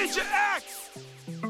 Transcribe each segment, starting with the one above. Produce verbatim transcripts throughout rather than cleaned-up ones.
J X.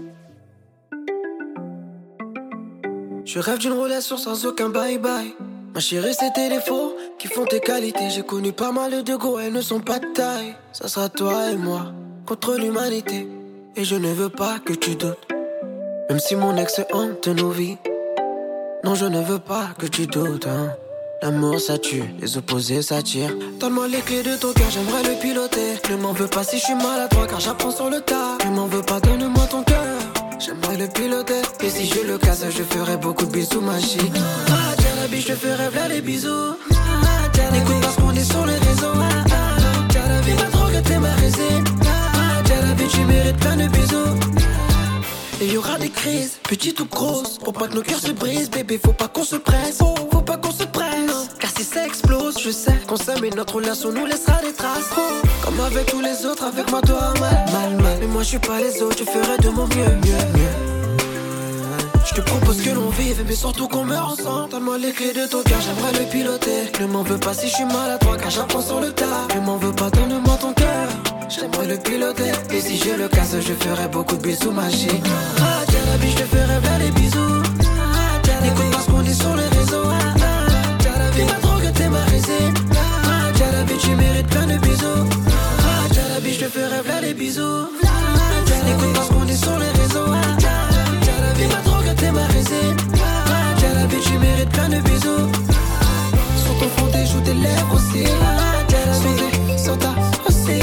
Je rêve d'une relation sans aucun bye-bye. Ma chérie, c'est tes défauts qui font tes qualités. J'ai connu pas mal de go, elles ne sont pas de taille. Ça sera toi et moi contre l'humanité. Et je ne veux pas que tu doutes, même si mon ex hante nos vies. Non, je ne veux pas que tu doutes, hein. L'amour ça tue, les opposés s'attirent. Donne-moi les clés de ton cœur, j'aimerais le piloter. Ne m'en veux pas si je suis maladroit car j'apprends sur le tas. Ne m'en veux pas, donne-moi ton cœur, j'aimerais le piloter. Et si je le casse, je ferai beaucoup de bisous magiques. Ah, Jalabi, je te ferai plein les bisous. Ah, Jalabi, écoute parce qu'on est sur les réseaux. Ah, Jalabi, ma drogue, t'es ma résine. Ah, Jalabi, tu mérites plein de bisous. Et y aura des crises, petites ou grosses, pour pas que nos cœurs se brisent, bébé, faut pas qu'on se presse, oh, faut pas qu'on se presse, car si ça explose, je sais qu'on s'aime et notre relation nous laissera des traces, oh, comme avec tous les autres, avec moi toi mal, mal, mal, mais moi je suis pas les autres, je ferai de mon mieux, mieux, mieux. Je te propose que l'on vive, mais surtout qu'on meurt ensemble. Donne-moi les clés de ton cœur, j'aimerais le piloter. Ne m'en veux pas si je suis maladroit, car j'apprends sur le tas. Ne m'en veux pas, donne-moi ton cœur, j'aimerais le piloter. Et si je le casse, je ferai beaucoup de bisous magiques. Ah, Jalabi, je te ferai plein les bisous. Ah, Jalabi, écoute parce qu'on est sur les réseaux. Ah, Jalabi, ma drogue, t'es ma résine. Ah, Jalabi, tu mérites plein de bisous. Ah, Jalabi, je te ferai plein les bisous. Ah, Jalabi, écoute parce qu'on est sur les réseaux. Ah, Jalabi, ma drogue, t'es ma résine. Ah, Jalabi, tu mérites plein de bisous. Sur ton front, tes joues, tes lèvres aussi. Ah, Jalabi, sur ta aussi.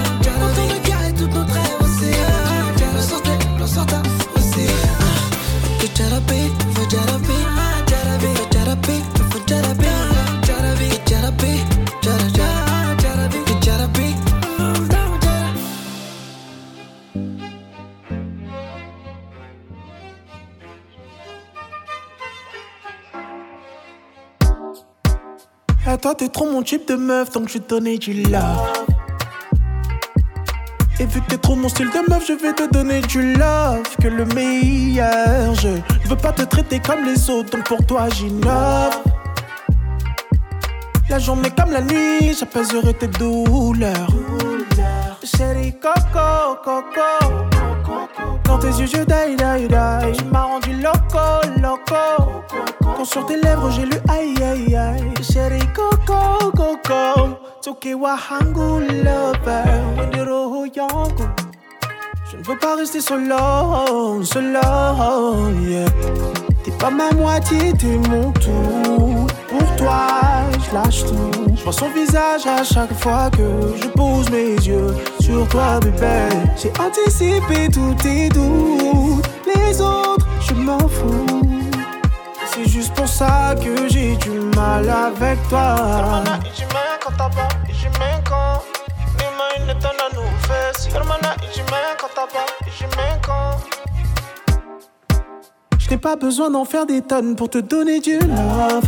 Jarabi, for Jarabi, Jarabi, for Jarabi, for Jarabi, Jarabi, Jarabi, Jarabi, Jarabi, Jarabi. Ah, toi t'es trop mon type de meuf, donc je vais te donner du love. Et vu que t'es trop mon style de meuf, je vais te donner du love, que le meilleur. Je ne veux pas te traiter comme les autres, donc pour toi j'innove. La journée comme la nuit, j'apaiserai tes douleurs. Chérie Coco, Coco. Dans tes yeux je die, die, die. Tu m'as rendu loco, loco. Quand sur tes lèvres j'ai lu aïe, aïe, aïe. Chérie Coco, Coco. Toke wahangu lover, wendero yangu. Je ne veux pas rester solo, solo, yeah. T'es pas ma moitié, t'es mon tout. Pour toi, je lâche tout. Je vois son visage à chaque fois que je pose mes yeux sur toi, bébé. J'ai anticipé tous tes doutes. Les autres, je m'en fous. C'est juste pour ça que j'ai du mal avec toi. Hermana, y j'y mets quand t'as pas, y j'y mets quand. Les mains, une tonne à nous fesses. Hermana, y j'y mets quand t'as pas, y j'y mets quand. Je n'ai pas besoin d'en faire des tonnes pour te donner du love.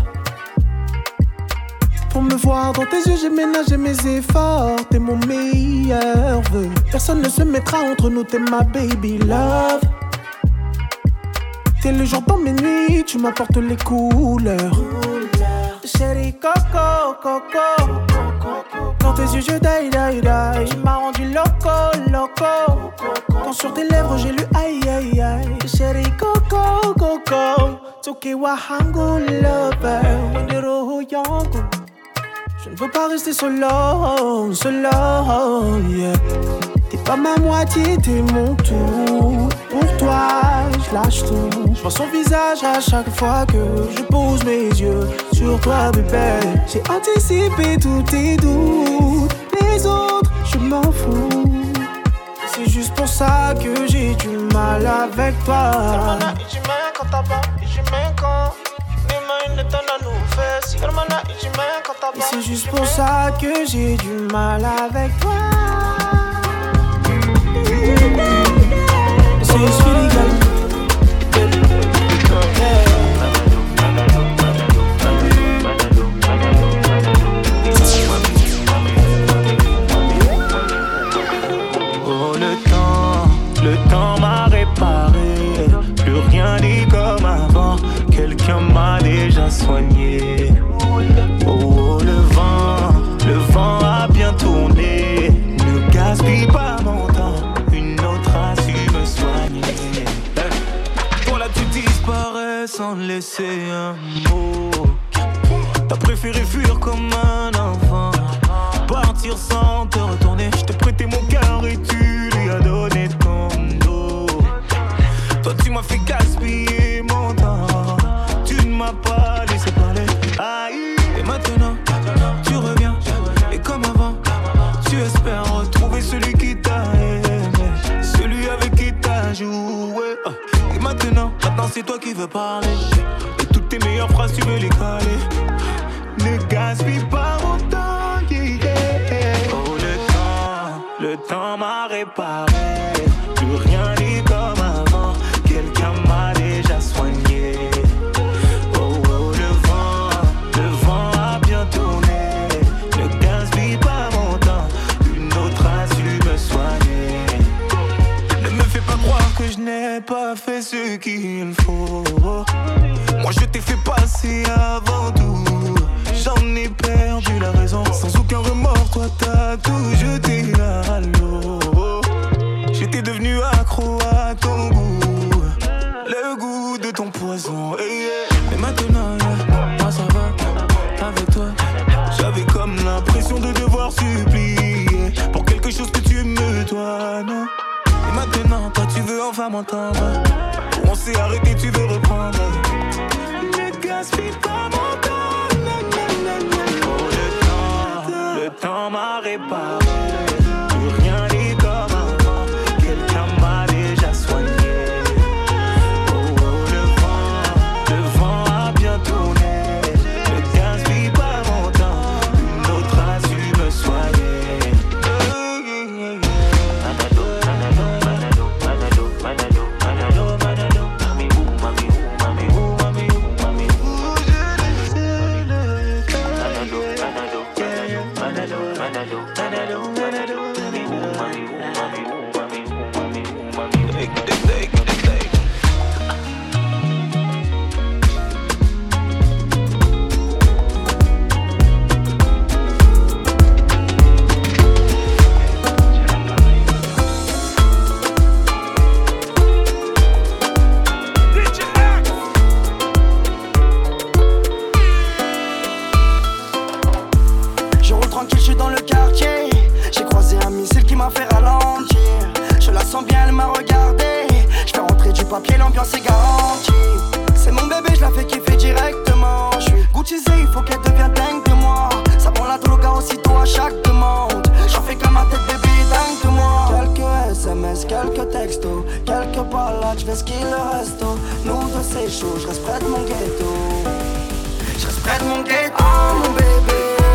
Pour me voir dans tes yeux, j'ai ménagé mes efforts. T'es mon meilleur vœu. Personne ne se mettra entre nous, t'es ma baby love. T'es le jour dans mes nuits, tu m'apportes les couleurs. Chérie Coco, Coco. Dans tes yeux, je die, die, die. Tu m'as rendu loco, loco. Quand sur tes lèvres, j'ai lu aïe, aïe, aïe. Chérie Coco, Coco. Toke wahangu lover, wendero yangu. Je ne veux pas rester solo, solo, yeah. T'es pas ma moitié, t'es mon tout. Pour toi, je lâche tout. Je vois son visage à chaque fois que je pose mes yeux sur toi, bébé. J'ai anticipé tous tes doutes. Les autres, je m'en fous. C'est juste pour ça que j'ai du mal avec toi. Hermana, y j'y mets quand t'as pas, y j'y mets quand. Les mains, une tonne à nous fesses. Hermana, y j'y mets quand t'as pas. C'est juste pour ça que j'ai du mal avec toi. C'est Speedy Gal. Oh le temps, le temps m'a réparé. Plus rien n'est comme avant. Quelqu'un m'a déjà soigné. Oh, oh le vent, le vent a bien tourné. Ne gaspille pas mon temps. Une autre laissé un mot. T'as préféré fuir comme un enfant, partir sans te retourner. Je t'ai prêté mon cœur et tu lui as donné ton dos. Toi tu m'as fait gaspiller mon temps, tu ne m'as pas laissé parler. Aïe. Et maintenant tu reviens, et comme avant tu espères retrouver celui qui t'a aimé, celui avec qui t'as joué. Et maintenant, maintenant c'est toi qui veux parler, et toutes tes meilleures phrases tu veux les caler. Ne gaspille pas mon temps, yeah, yeah. Oh le temps, le temps m'a réparé, plus rien n'est comme avant, quelqu'un m'a déjà soigné. Oh oh le vent, le vent a bien tourné, ne gaspille pas mon temps, une autre a su me soigner. Ne me fais pas croire que je n'ai pas fait ce qu'il faut, moi je t'ai fait passer avant tout. J'en ai perdu la raison, sans aucun remords, toi t'as tout jeté à l'eau. J'étais devenu accro à ton goût, le goût de ton poison, hey, yeah. Mais maintenant, yeah, moi ça va, avec toi j'avais comme l'impression de devoir supplier pour quelque chose que tu me dois, non. Et maintenant, toi tu veux enfin m'entendre, on s'est arrêté, tu veux reprendre. Ne gaspille pas mon temps. Le temps m'a réparé, plus rien n'est comme avant, quelqu'un m'a déjà soigné. Oh oh le vent, le vent a bien tourné, ne gaspille pas mon temps, une autre a su me soigner. Manado, manado, manado, manado, manado, manado, mami ou, mami ou, mami ou, mami ou, mami ou, je le sais le cas. Manado, manado. Manado, Manado, Manado, Manado, mami ou, mami ou, mami ou, mami ou, mami ou, mami ou. Take it, take it, take it. Tranquille, je suis dans le quartier. J'ai croisé un missile qui m'a fait ralentir. Je la sens bien, elle m'a regardé. Je fais rentrer du papier, l'ambiance est garantie. C'est mon bébé, je la fais kiffer directement. Je suis goutisé, il faut qu'elle devienne dingue de moi. Ça prend la droga aussitôt à chaque demande. J'en fais comme ma tête, bébé, dingue de moi. Quelques S M S, quelques textos, quelques balades, je fais ce qu'il reste. Nous deux c'est chaud, je reste près de mon ghetto. Je reste près de mon ghetto. Oh mon bébé,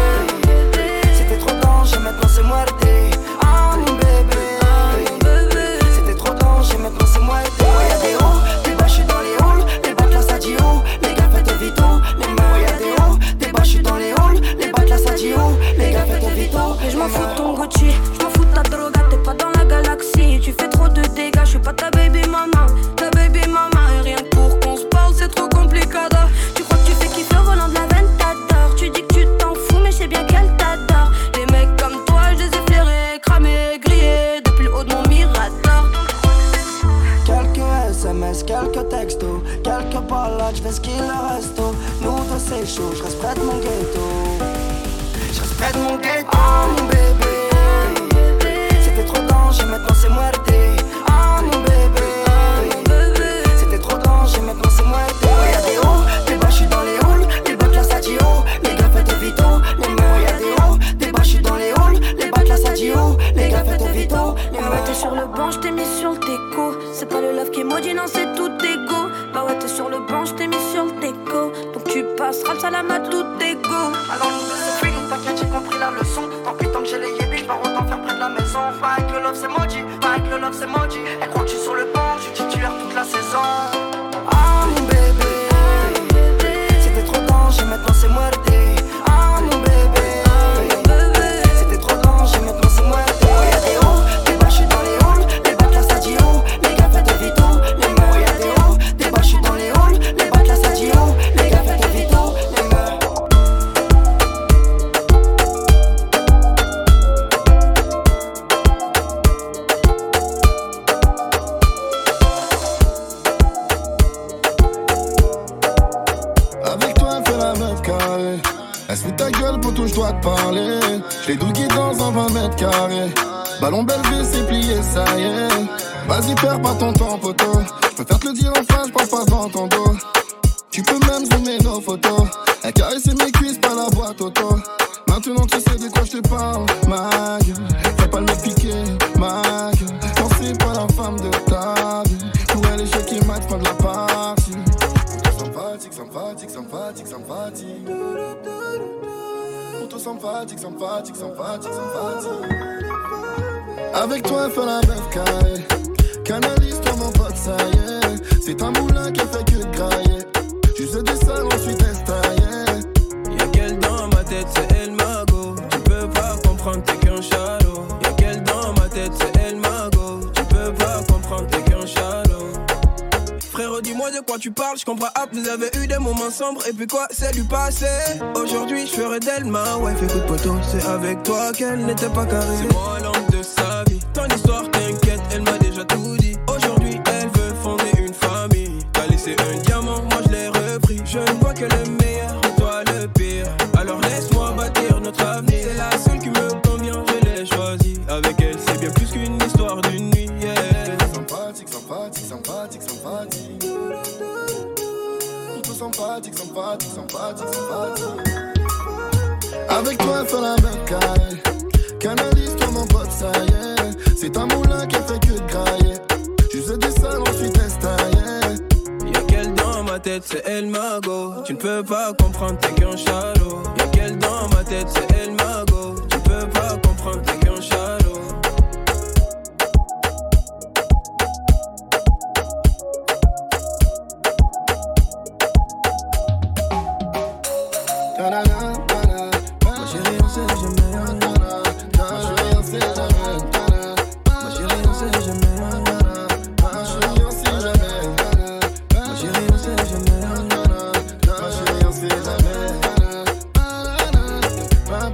maintenant c'est muerte. Ah mon bébé, c'était trop danger, maintenant c'est muerte. Y'a des hauts, des bas, j'suis dans les halls. Les bacs là ça dit oh, les gars faites vito. Les mains, y'a des hauts, des bas, j'suis dans les halls. Les bacs là ça dit oh, les gars faites vito. Et j'm'en fous de ton Gucci, j'm'en fous de ta droga. T'es pas dans la galaxie, tu fais trop de dégâts. J'suis pas ta baby mama, ta baby mama. Et rien que pour qu'on se parle c'est trop compliqué. Tu crois que tu fais kiffer au volant de la veine, t'adores. Tu dis que tu t'en fous mais c'est bien qu'elle t'adore. Les mecs comme toi je les ai flairés, cramés, grillés depuis le haut de mon mirador. Quelques S M S, quelques textos, quelques balades, j'fais ce qu'il reste. Nous deux c'est chaud, j'reste près de mon ghetto. J'reste près de mon ghetto. Oh mon bébé, c'était trop danger, maintenant c'est muerte. Ah mon bébé, c'était trop danger, maintenant c'est muerte. Y'a des hauts, des bas, j'suis dans les halls. Les bacs là ça dit oh, les gars faites vito. Les mains, y'a des hauts, des bas, j'suis dans les halls. Les bacs là ça dit oh, les gars faites vito. Bah ouais t'es sur le banc, j't'ai mis sur le déco. C'est pas le love qui est maudit, non c'est tout égo. Bah ouais t'es sur le banc, j't'ai mis sur le déco. Donc tu passeras le salam à tout égo. Alors nous deux c'est free, t'inquiète j'ai compris la leçon. Tant pis tant que j'ai les yébis, j'vais autant faire près de la maison. Pas avec le love c'est maudit, pas avec le love c'est maudit. Elle croit que je suis sur le banc, je suis titulaire toute la saison. Ah mon bébé, c'était trop danger, maintenant c'est muerte. Ah mon bébé, c'était trop danger, maintenant c'est muerte. Y'a des hauts, des bas, j'suis dans les halls. Les bacs là ça dit oh, les gars faites vito. Les mains, y'a des hauts, des bas, j'suis dans les halls. Les bacs là ça dit oh, les gars faites vito. Les mains. yeah. J'l'ai dougué dans un vingt mètres carrés. Ballon Belvé, c'est plié, ça y est. Vas-y, perds pas ton temps, poteau. J'préfère te le dire en face, j'parle pas dans ton dos. Tu peux même zoomer nos photos. Elle caressait mes cuisses, pas la boîte auto. Maintenant tu sais de quoi je te parle, ma gueule. Fais pas le me piquer, ma gueule. Non, c'est pas la femme de ta vie. Pour elle, l'échec et match, fin de la partie. Ça me fatigue, ça me fatigue, ça me fatigue, ça me fatigue. Pour tout, ça me fatigue, ça me fatigue, ça me fatigue, ça me fatigue. Avec toi, elle fait la meuf carrée. Canalise-toi, mon pote, ça y est. C'est un moulin qui fait que de grailler. Juste des salles, ensuite estaillé. Y'a qu'elle dans ma tête, c'est elle ma go. Tu peux pas comprendre, t'es qu'un chalot. Y'a qu'elle dans ma tête, c'est elle ma go. Tu peux pas comprendre, t'es qu'un chalot. Frérot, dis-moi de quoi tu parles, je comprends pas. Vous avez eu des moments sombres et puis quoi, c'est du passé. Aujourd'hui, je ferai d'elle ma wife. Écoute poteau, c'est avec toi qu'elle n'était pas carrée. C'est moi l'homme de sa vie. Ton histoire t'inquiète, elle m'a déjà tout dit. Aujourd'hui, elle veut fonder une famille. T'as laissé un diamant, moi je l'ai repris. Je ne vois que le meilleur, toi le pire. Alors laisse-moi bâtir notre avenir. C'est la seule qui me convient, je l'ai choisie. Avec elle, c'est bien plus qu'une histoire d'une nuit, yeah. Sympathique, sympathique, sympathique, sympathique. Tout sympathique, sympathique, sympathique, sympathique. Avec toi, elle fait la même carré. Canalise-toi, mon pote, ça y est. C'est un moulin qui fait que de grailler. Juste des salles, ensuite estaillé. Y'a qu'elle dans ma tête, c'est elle ma go. Tu ne peux pas comprendre, t'es qu'un chalot. Y'a qu'elle dans ma tête, c'est elle ma go. Tu peux pas comprendre, t'es qu'un chalot. Ma chérie, on sait jamais. Ma chérie, on sait jamais. Ma chérie, on sait jamais. Ma chérie, on sait jamais. Ma chérie, on sait jamais. Ma chérie, on sait jamais.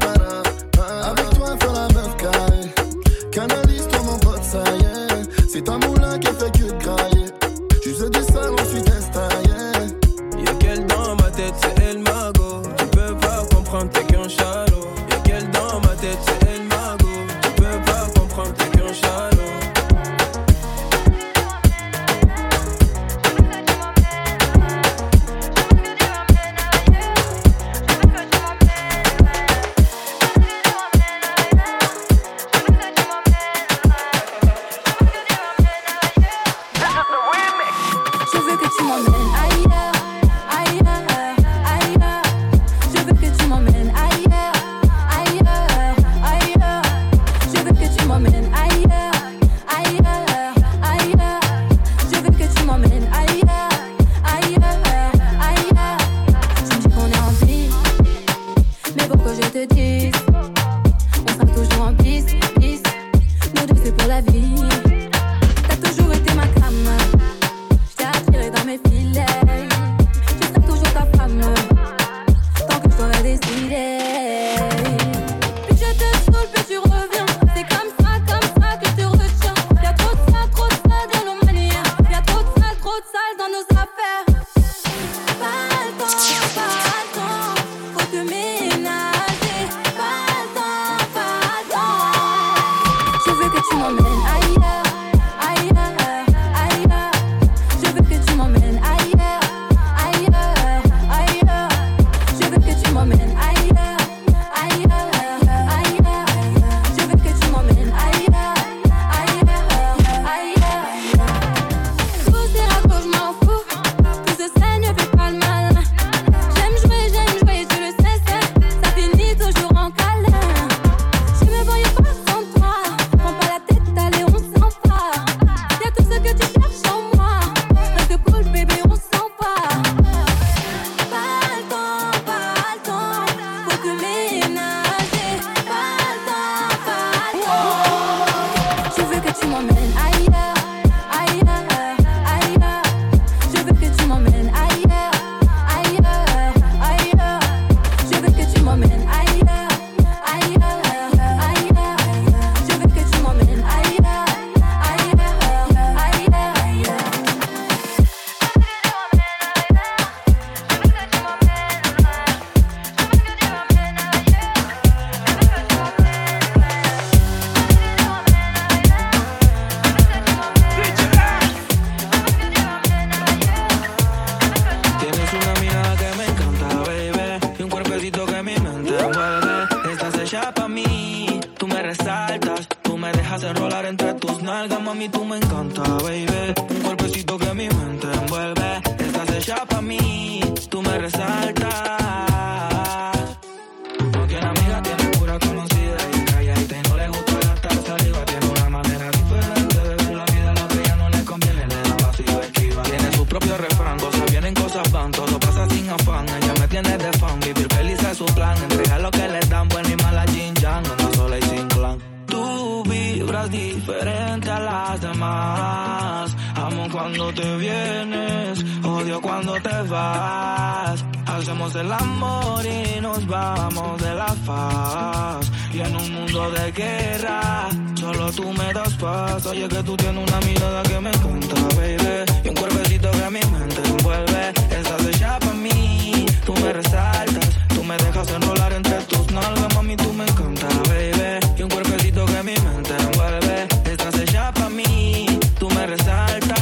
mí, tú me resaltas. Tú me dejas enrolar entre tus nalgas, mami, tú me encanta, baby. Un cuerpecito que mi mente envuelve. Estás hecha pa' mí, tú me resaltas. No tiene amiga, tiene pura conocida y calladita y no le gusta gastar saliva. Tiene una manera diferente de ver la vida, lo que ya no le conviene, le da vacío esquiva. Tiene su propio refrán, cosas vienen, cosas van, todo pasa sin afán. Ella me tiene de fan, vivir feliz es su plan. Entregar lo que le dan, buena y mala Jin Yang, anda sola y sin clan. Tú vibras diferente a las demás. Amo cuando te vienes, odio cuando te vas. Hacemos el amor y nos vamos de la faz. Y en un mundo de guerra, solo tú me das paz. Oye que tú tienes una mirada que me encanta, baby. Y un cuerpecito que a mi mente envuelve. Estás hecha pa' mí, tú me resaltas. Tú me dejas enrolar entre tus nalgas, mami, tú me encanta, baby. Y un cuerpecito que mi mente envuelve. Estás hecha pa' mí, tú me resaltas.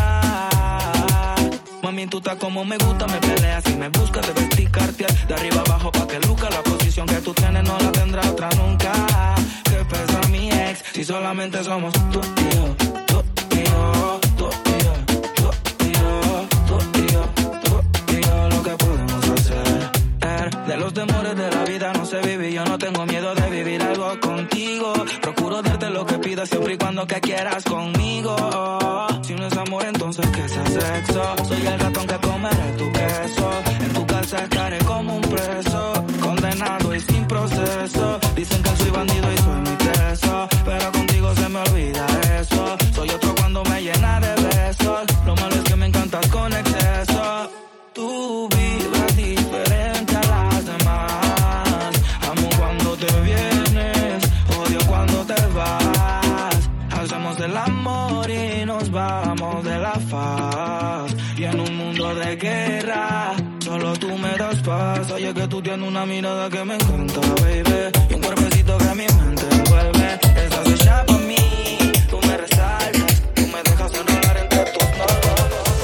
Mami, tú estás como me gusta, me peleas y me buscas. Debes picarte de arriba abajo pa' que luzca. La posición que tú tienes no la tendrá otra nunca. Que pesa mi ex, si solamente somos tú y yo, tú y yo, tú y yo, tú y yo, tú y yo, tú y yo, lo que podemos hacer. De los temores de la vida no sé vivir, yo no tengo miedo de vivir algo contigo. Procuro darte lo que pidas siempre y cuando que quieras conmigo. Si no es amor, entonces que sea sexo. Soy el ratón que comeré tu queso. En tu casa estaré como un preso, condenado y sin proceso. Dicen que soy bandido y soy muy teso, pero contigo se me olvida eso. Soy otro cuando me llena de besos. Lo malo es que me encantas con exceso. Tú vibras diferente a las demás. Amo cuando te vienes, odio cuando te vas. Hacemos el amor y nos vamos de la faz. Y en un mundo de guerra, solo tú me das paz. Oye que tú tienes una mirada que me encanta, baby. Y un cuerpecito que a mi mente envuelve. Estás hecha pa' mí, tú me resaltas. Tú me dejas enrolar entre tus nalgas.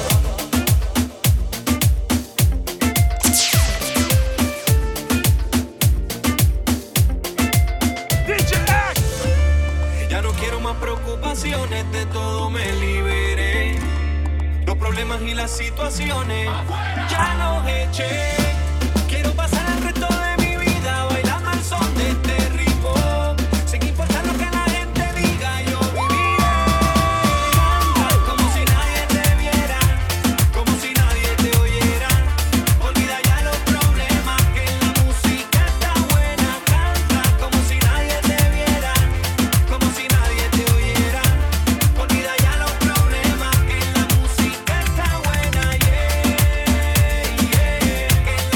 Ya no quiero más preocupaciones, de todo me liberé. Los problemas y las situaciones ya los eché. Quiero pasar el resto de mi vida bailando al son de este ritmo. Sin importar lo que la gente diga, yo viviré. Canta como si nadie te viera, como si nadie te oyera. Olvida ya los problemas, que la música está buena. Canta como si nadie te viera, como si nadie te oyera. Olvida ya los problemas, que la música está buena, yeah, yeah. Que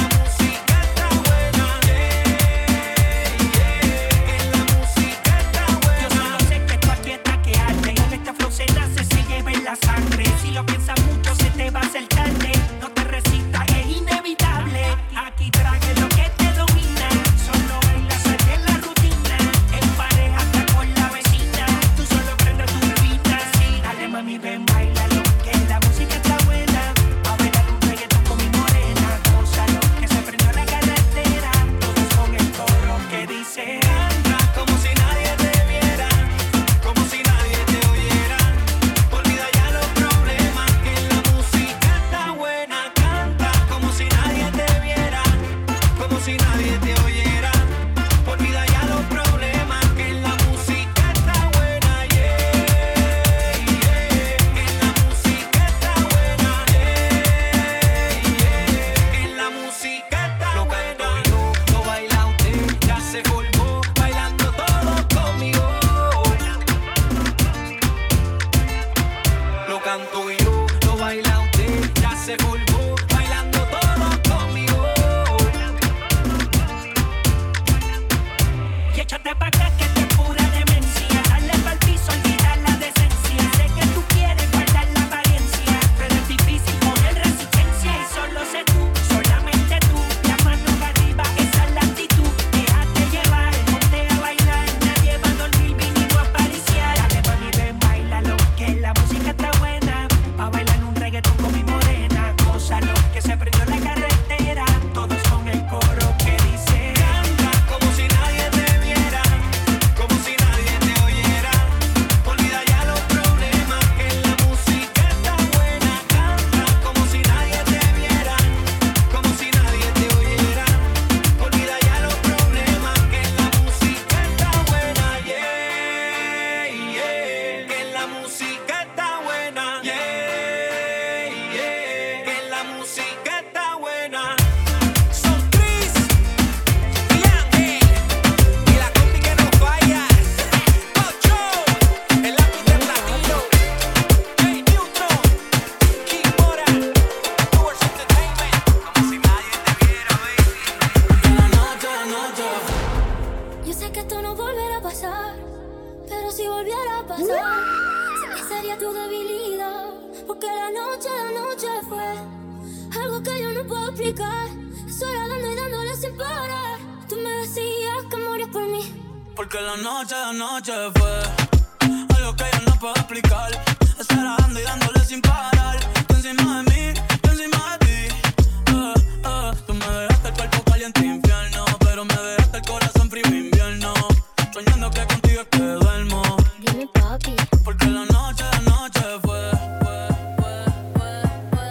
volver a pasar, pero si volviera a pasar, sé que sería tu debilidad, porque la noche, la noche fue algo que yo no puedo explicar. Estoy dando y dándole sin parar. Tú me decías que morías por mí, porque la noche, la noche fue algo que yo no puedo explicar. Estar dando y dándole sin parar. Tú encima de mí, tú encima de ti. Uh, uh, tú me dejaste el cuerpo caliente infierno, pero me dejaste el corazón frío invierno. Soñando que contigo es que duermo. Dime papi, porque la noche, la noche fue, fue, fue, fue,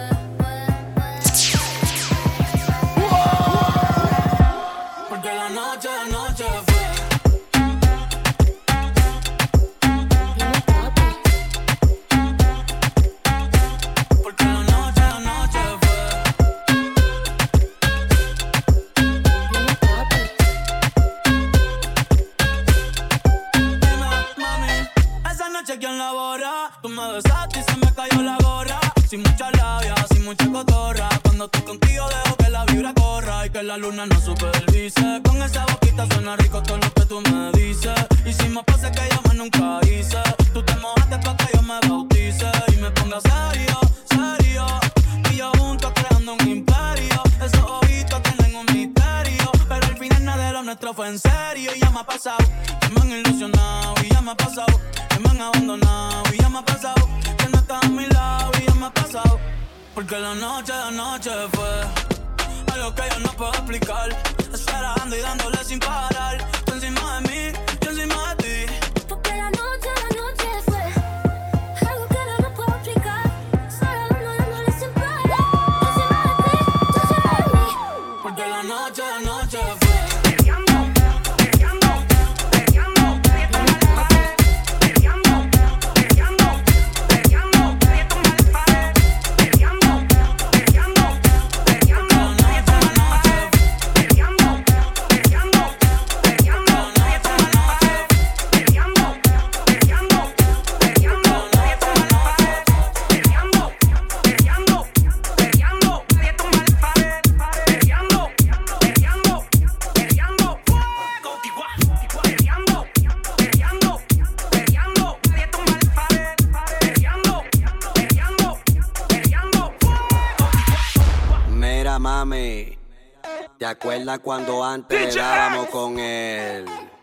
fue, fue. Porque la noche, la noche fue. ¿Quién la borra? Tú me besaste y se me cayó la gorra. Sin mucha labia, sin mucha cotorra. Cuando estoy contigo dejo que la vibra corra y que la luna no supervise. Con esa boquita suena rico todo lo que tú me dices. Y si me pasa que yo más nunca hice, tú te mojaste pa' que yo me bautice y me ponga serio, serio. Y yo juntos creando un imperio. Esos ojitos tienen un misterio, pero al final nada de lo nuestro fue en serio. Y ya me ha pasado, que me han ilusionado. Y ya me ha pasado, que me han abandonado. Y ya me ha pasado, que no estás a mi lado. Y ya me ha pasado, porque la noche, la noche fue algo que yo no puedo explicar. Estar dando y dándole sin parar. Tú encima de mí, yo encima de ti. porque la noche, la noche fue algo que yo no puedo explicar. Estar dando y dándole sin parar. Tú encima de ti, tú encima de mí. Porque la noche, la noche fue. Mami, ¿te acuerdas cuando antes le dábamos con él?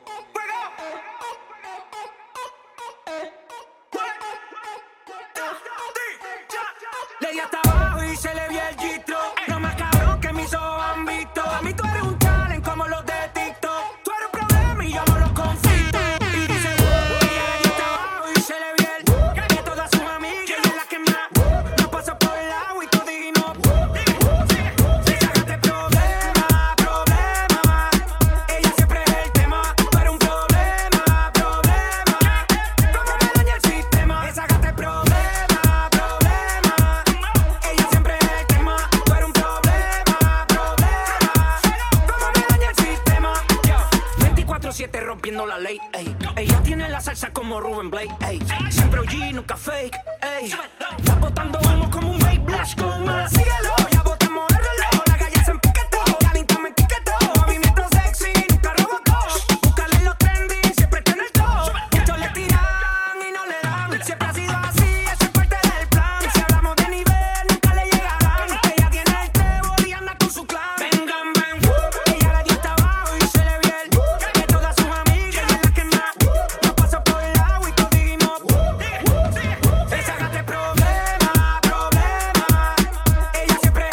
Le di hasta abajo y se le vio el gistro. Lo más cabrón que mis ojos han visto. A mí tú eres un talent como los de TikTok. Tú eres un problema y yo no lo conflicto. Y dice, uh, ella le dio hasta abajo y se le vio el uh, que todas sus amigas ella es la que más no pasa por el agua y tú dijimos si sacaste problema, problema. Ella siempre es el tema. Tú eres un problema, problema. Como me daña el sistema. Le sacaste problema, problema. Ella siempre es el tema. Tú eres un problema, problema. Como me daña el sistema. veinticuatro siete rompiendo la ley, ey. Ella tiene la salsa como Ruben Blake, ey. Siempre O G, nunca fake, ey. Está botando humo como un vape blast con más cielo. Ya botamos el reloj, la calle se empiquetó. Calentamos me etiquetó, movimiento sexy, nunca rebotó. Búscale los trending, siempre está en el top. Muchos le tiran y no le dan. Siempre ha sido así, eso es parte del plan. Si hablamos de nivel, nunca le llegarán. Ella tiene el tebo y anda con su clan. Vengan, ven, ella le dio hasta abajo y se le vio el que todas sus amigas ella es la que más no pasa por el agua y tú dijimos le sacaste problema, problema. Ella siempre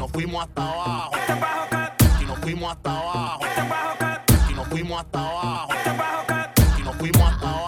nos fuimos hasta abajo. Y nos fuimos hasta abajo. Y nos fuimos hasta abajo. Y nos fuimos hasta abajo.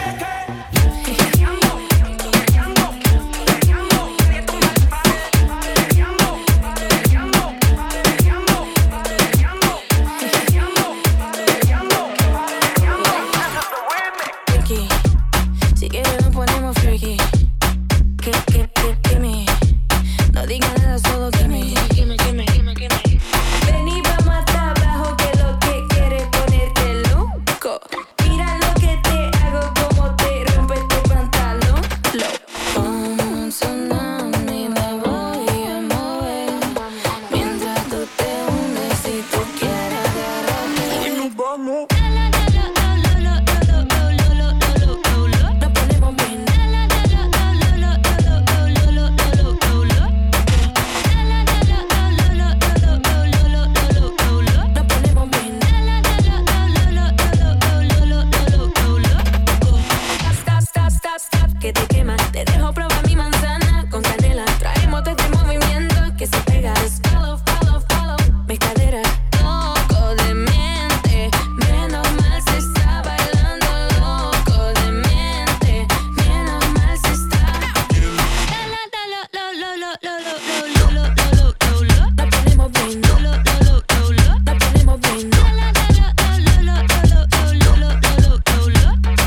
Si quieres nos ponemos freaky. Que, que, que, que me. No digas nada, solo que me. Gimme, gimme, gimme, gimme. Ven y vamos hasta abajo, que lo que quieres ponerte loco. Mira lo que te hago, como te rompe tu pantalón. Lo pon sonando y me voy a mover. Mientras tú te hundes, si tú quieres agarrarme. Y nos vamos. Que te quema, te dejo probar mi manzana con canela. Traemos este movimiento que se pega. Just follow, follow, follow mis caderas. Loco de mente, menos mal se está bailando. Loco de mente, menos mal se está. La lo lo lo lo lo lo lo lo lo lo lo. La ponemos bien. Lo lo lo lo lo. La ponemos bien. La la la la la la la la la la la.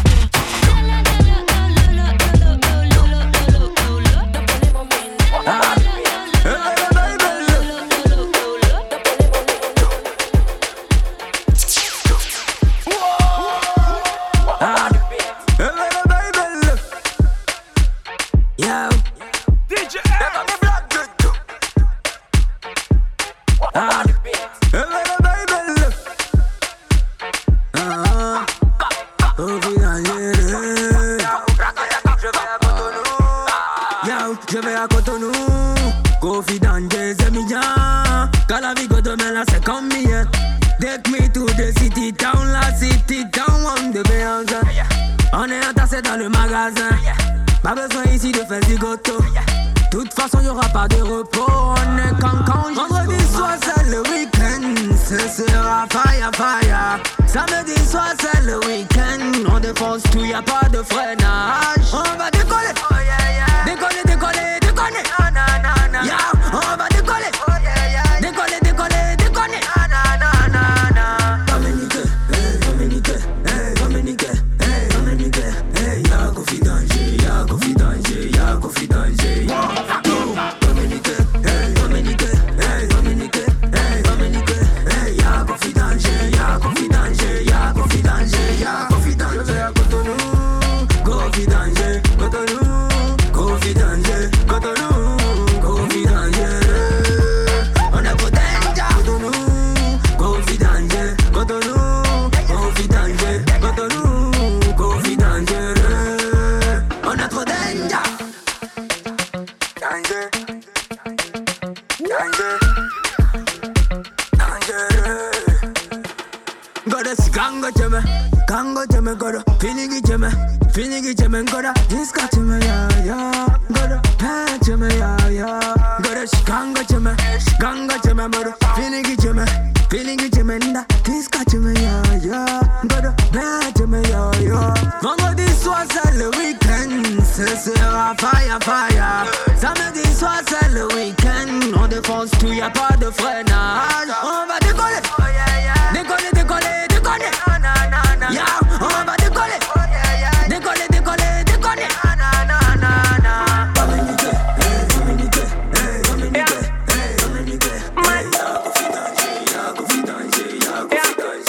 Je vais à Cotonou, confident des Emiliens. Quand la vie demain là c'est comme mien. Take me to the city town, la city town, on de béance. On est entassé dans le magasin. Pas besoin ici de faire du gâteau. De toute façon y'aura pas de repos. On est cancan. Vendredi soir c'est le week-end. Ce sera fire fire. Samedi soir c'est le week-end. On défonce tout, y'a pas de freinage. On va décoller. Décoller, décoller, décoller. Na na na na. Yeah, on va décoller. Oh yeah yeah. Décoller, décoller, décoller. Na na na na na. Dominique, hey Dominique, hey Dominique, hey Dominique, hey y'a confidence, y'a confidence, y'a confidence, y'a. Dominique, hey Dominique, hey Dominique, hey Dominique, hey y'a confidence, y'a confidence, y'a confidence, y'a confidence. Je vais à Cotonou, confidence, Cotonou. Confidence, Cotonou, confidence. On a trop danger. Cotonou, confidence, Cotonou, confidence, Cotonou, confidence. On a trop danger. Danger, danger, danger. Gotta see Gango Jeme, Gango Jeme, gotta Finigi Jeme, Finigi Jeme, gotta Disca Jeme, yeah, yeah. Gotta Pan Jeme, yeah, yeah. Gotta see Gango Jeme, Gango Jeme, gotta Finigi Jeme, Finigi Jeme, nda Disca Jeme, yeah, yeah. Gotta Pan Jeme, yeah, yeah. Vendredi soir c'est le week-end, ce sera fire fire. Samedi soir c'est le week-end, on défonce tout, y'a pas de freinage. On va décoller, décoller, décoller, décoller. Yeah, on va décoller. Décoller, décoller, décoller. Dominique, hey Dominique, hey Dominique, hey Dominique, hey y'a confidence, y'a confidence, y'a confidence.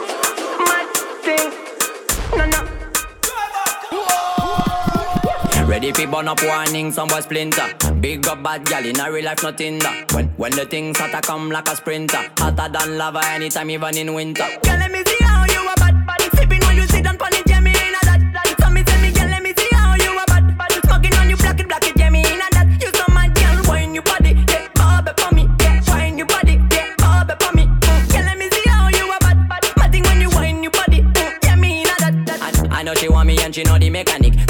Ready fi burn up warning, some boy splinter. Big up bad gal in a real life, nothing that. When when the things hotter come like a sprinter, hotter than lava anytime, even in winter. Girl, let me see how you a bad, bad. Sipping when you sit down pon it, yeah me in a that, that. So me tell me, girl, let me see how you a bad, bad. Smoking on you, black it, black it, yeah me in a that. You so mad, girl, wine your body, yeah, bobby for me, yeah, wine your body, yeah, bobby for me. Mm. Girl, let me see how you a bad, bad. Mad thing when you wine your body, mm. yeah me in a that, that. I, I know she want me and she know the mechanic. Top a top girl.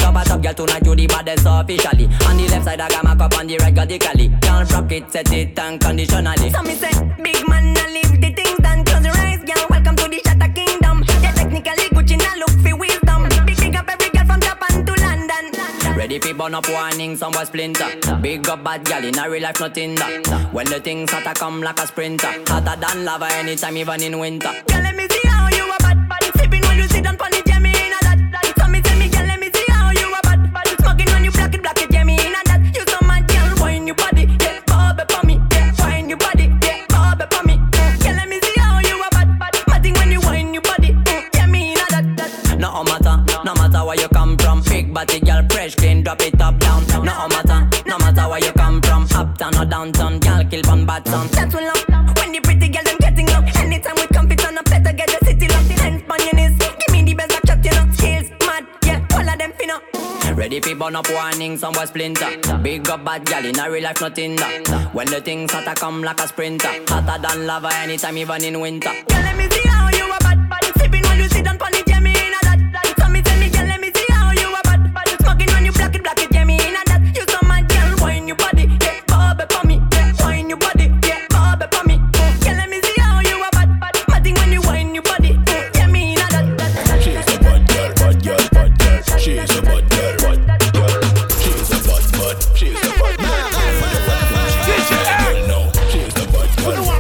girl tonight you the baddest officially. On the left side I got my cup on the right radically. Girl rock it, set it unconditionally. So me say, big man, I leave the things done. Close your eyes, girl, welcome to the Shatta Kingdom. Yeah, technically Gucci, now look for wisdom. Big, big up every girl from Japan to London. Ready for burn up warning, some boy splinter. Big up bad gal in a real life, nothing that. When the things start to come like a sprinter, hotter than lava anytime, even in winter. Girl, let me see how you a bad, bad. Sipping when you sit down pon the jammy in a that, that. So me tell me, girl, let me see how you a bad, bad. Smoking when you black it, black it, jammy in a that. You so mad, girl, wine your body, yeah, bob it for me, yeah, wine your body, yeah, bob it for me. Girl, let me see how you a bad, bad. Matting when you wine your body, yeah, me in a that, that. No matter, no matter where you come from. Big body girl, fresh, clean, drop it up, down. No matter, no matter where you come from. Uptown or downtown, girl, kill on bad town. That's what love, when the pretty girl them getting low. Anytime we come fit on a better get the city locked. Hands on your knees, give me the best of chat, you know. Skills, mad, yeah, all of them finna. Ready for burn up warning, some boy splinter. Big up bad gal in a real life, nothing that. When the things start to come like a sprinter, hotter than lava anytime, even in winter. Girl, let me see how you a bad, bad. Sipping when you sit down pon the jammy in a that, that. So me tell me, girl, let me see how you a bad, bad. Smoking when you black it, black it, jammy in a that. You so mad, girl, wine your body, yeah, bob it for me, yeah, wine your body, yeah, bob it for me. Girl, let me see how you a bad, bad. Matting when you wine your body, yeah, me in a that, that. She's a bad girl, bad girl, bad girl. She's a bad girl, bad girl. She's a bad, bad. She's a bad girl. She's a bad girl. She's a bad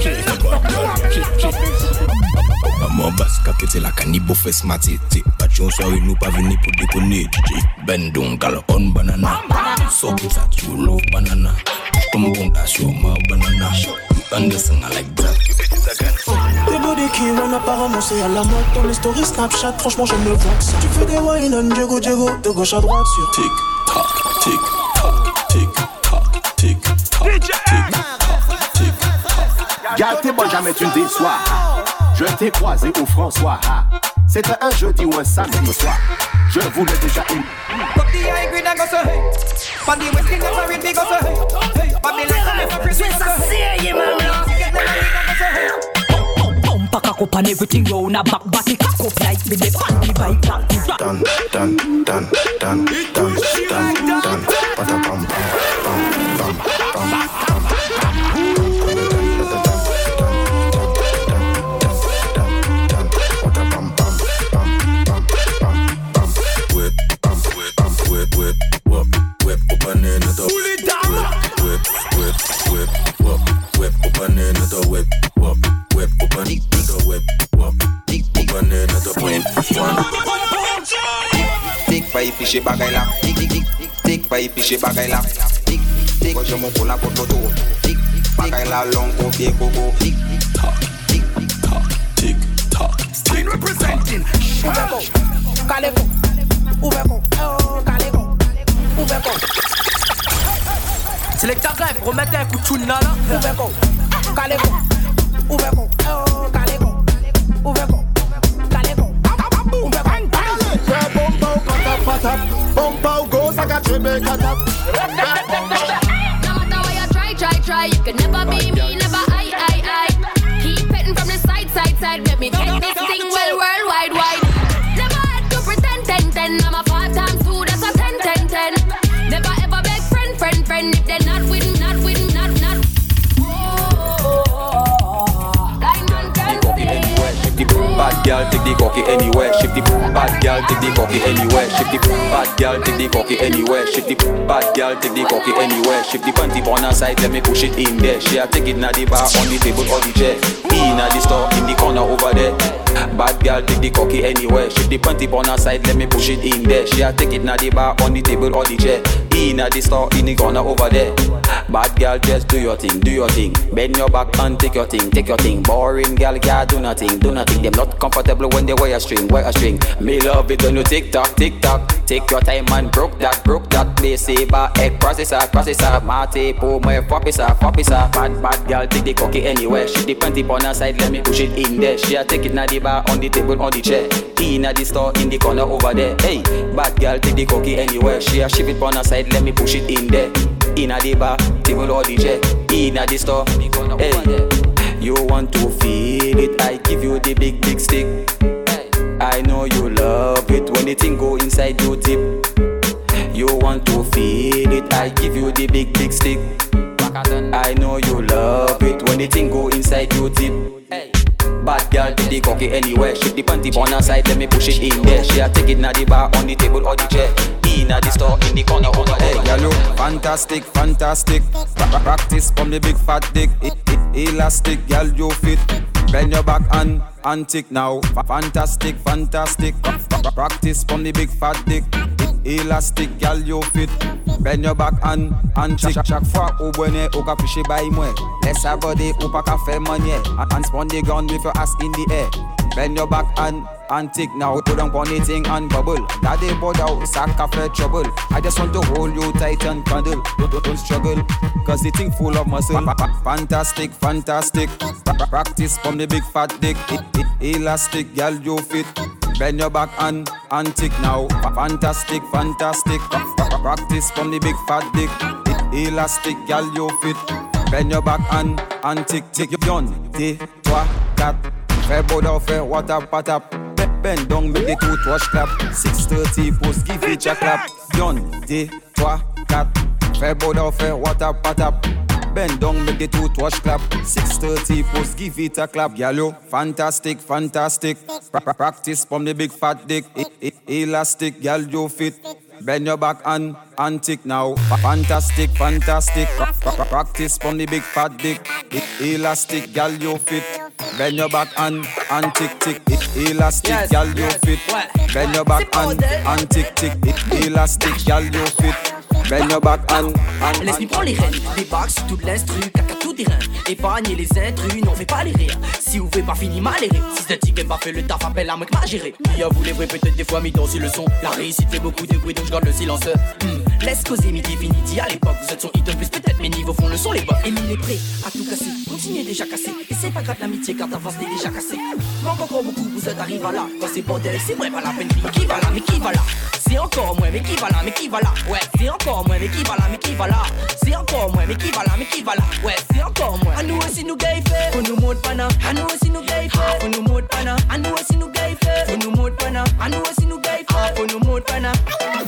girl. She's a bad girl. Maman baska que c'est la canibo fait smarté. Patchon soirée nous pas venir pour déconner. D J Ben donc gal on banana. So que ça tu love banana. Comme bon sur ma banana. Anderson I like that. Tes body qui run apparemment c'est à la mode. Dans les stories Snapchat franchement j'aime le voir ça. Tu fais des wine on Diego Diego de gauche à droite sur tic tac tic tac tic tac tic tac tic tac tic tac. Gâtez-moi jamais tu ne déçois. Je t'ai croisé au François. C'était un jeudi ou un samedi soir. Je voulais déjà une. Cock up and everything round a back, body cock up like with the panty bike. Done, done, done, done, done, done, done. Bada bum bum bum bum bum. Fiché bagay la, tic tic tic tic, pas fiché bagay la, tic tic, quand je m'en pour la porte moto, tic bagay la long copier coco, tic toc, tic toc, tic toc, tic representing. Ouveko, Kaleko, Ouveko, Kaleko, Ouveko. Selecta Grève, remettez un coup de tune là là. Ouveko, Kaleko, Ouveko, Kaleko, Ouveko. Bump goes like a Jamaican tap. No matter what you try, try, try, you can never be me, never I, I, I. Keep petting from the side, side, side. Let me get this thing well, worldwide, wide. Never had to pretend, ten, ten. I'm a five times two, that's a ten, ten, ten. Never ever beg friend, friend, friend. If they're not with, not with, not, not. Bad girl take the cocky anywhere. Shift the bad girl take the cocky anywhere. Shift the bad girl take the cocky anywhere. Shift the bad girl take the cocky anywhere. Shift the panty on her side, let me push it in there. She a take it na the bar, on the table or the chair. In a the store, in the corner over there. Bad girl take the cocky anywhere. Shift the panty on her side, let me push it in there. She a take it na the bar, on the table or the chair. In a the store, in the corner over there. Bad girl, just do your thing, do your thing. Bend your back and take your thing, take your thing. Boring girl can't do nothing, do nothing. Them not comfortable when they wear a string, wear a string. Me love it when you tick tock, tick tock. Take your time and broke that, broke that. Play saber, egg processor, processor. Mate, po, my fopisa, fopisa. Bad, bad girl, take the cocky anywhere. She the panty on her side, let me push it in there. She a take it na the bar, on the table, on the chair. In at the store, in the corner over there. Hey, bad girl, take the cocky anywhere. She a shift it on her side, let me push it in there. In at the bar, table or the chair. In at the store, hey. You want to feel it, I give you the big, big stick. I know you love it when the thing go inside your tip. You you want to feel it, I give you the big big stick. I know you love it when the thing go inside your tip. Bad girl take the cocky anywhere. Shift the panty on her side, let me push it in there. She a take it na the bar, on the table or the chair. In a the store, in the corner over there. Hey, girl, look fantastic, fantastic. Practice from the big fat dick. It, it, elastic, girl, you fit. Bend your back and and tick now. Fantastic, fantastic. Practice from the big fat dick. It, elastic, girl, you fit. Bend your back and and tick. Chaque fois au bonnet, au ka piché by moi. Laisse sa body ou pas ka faire manier. And spawn the gun with your ass in the air. Bend your back and and tick now. Put on pony thing and bubble. Daddy board out, sack cafe trouble. I just want to hold you tight and cuddle. Don't, don't, don't struggle, cause the thing full of muscle. Fantastic, fantastic. Practice from the big fat dick. It, it, elastic, girl, you fit. Bend your back and and tick now. Fantastic, fantastic. Practice from the big fat dick. It, elastic, girl, you fit. Bend your back and and tick tick. Yon, deux, trois, quatre. Fais beau d'en faire what up, what up. Bend down, make the toothwash clap. six thirty post, give it a clap. Yon, deux, trois, quatre. Fais beau d'en faire what up, what up. Bend down, make the toothwash clap. six thirty post, give it a clap. Yellow, fantastic, fantastic. Practice from the big fat dick. It, it, elastic, girl, you fit. Bend your back and and tick now. Fantastic, fantastic. Practice from the big fat dick. It, elastic, girl, you fit. Bend your back and and tick tick. It, elastic, girl, you fit. Bend your back and and tick tick. It, elastic, girl, you fit. Bend your back and and. Laisse-moi prendre les rênes, débarque sur toute l'instru, caca tout terrain. Épargnez les intrus, non fais pas les rires. Si vous faites pas fini mal les rires. Si cette tique pas fait le taf, appelle la mec m'a géré. Il y a vous les vrais peut-être des fois mis dans le son. La réussite fait beaucoup de bruit donc je garde le silence. hmm. Laisse causer midi finiti à l'époque. Vous êtes son hit plus peut-être mes niveaux font le son les bocs. Emile est prêt à tout casser, continuez déjà cassé. Et c'est pas grave l'amitié car d'avance t'es déjà cassé. Manque encore beaucoup, vous êtes arrivé là. Quand c'est bordel, c'est vrai pas la peine. Qui va là, mais qui va là? C'est encore moins, mais qui va là, mais qui va là? Ouais, c'est encore moins, mais qui va là, mais qui va là? C'est encore moins, mais qui va là, mais qui va là? Ouais, c'est encore moins. À nous aussi nous gay fait, faut nous montre pas na. À nous aussi nous gay fait, faut nous montre pas na. À nous aussi nous gay fait, faut nous montre pas na. À nous aussi nous gay fait, faut nous montre pas na.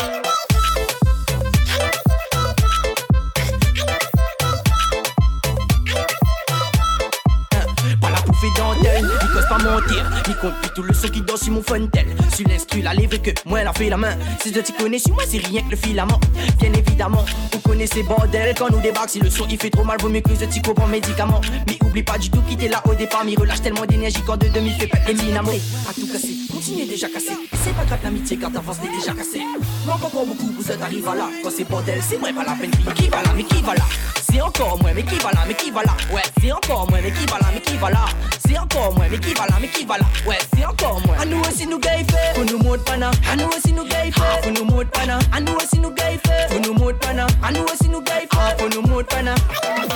Dentelle, il cause pas mentir, il compte plus tout le son qui danse sur mon fontel. Sur l'instru, la lèvre que moi elle a fait la main. Si je t'y connais, sur moi c'est rien que le filament. Bien évidemment, vous connaissez bordel. Quand nous débarque, si le son il fait trop mal, vaut mieux que je t'y comprends médicament. Mais oublie pas du tout quitter là au départ, m'y relâche tellement d'énergie quand de demi fait pète les dynamo. À tout casser, continuez déjà cassé. Et c'est pas grave l'amitié car d'avance t'es déjà cassé. Manque encore beaucoup, vous êtes arrivé là. Quand c'est bordel, c'est vrai pas la peine. Qui va là, mais qui va là? C'est encore moins, mais qui va là, mais qui va là? Ouais, c'est encore moins, mais qui va là, mais qui va là? C'est encore moins, mais qui va là, mais qui va là? Ouais, c'est encore moins. À nous aussi nous gay fait, faut nous montre pas na. À nous aussi nous gay fait, faut nous montre pas na. À nous aussi nous gay fait, faut nous montre pas na. À nous aussi nous gay fait, faut nous montre pas na.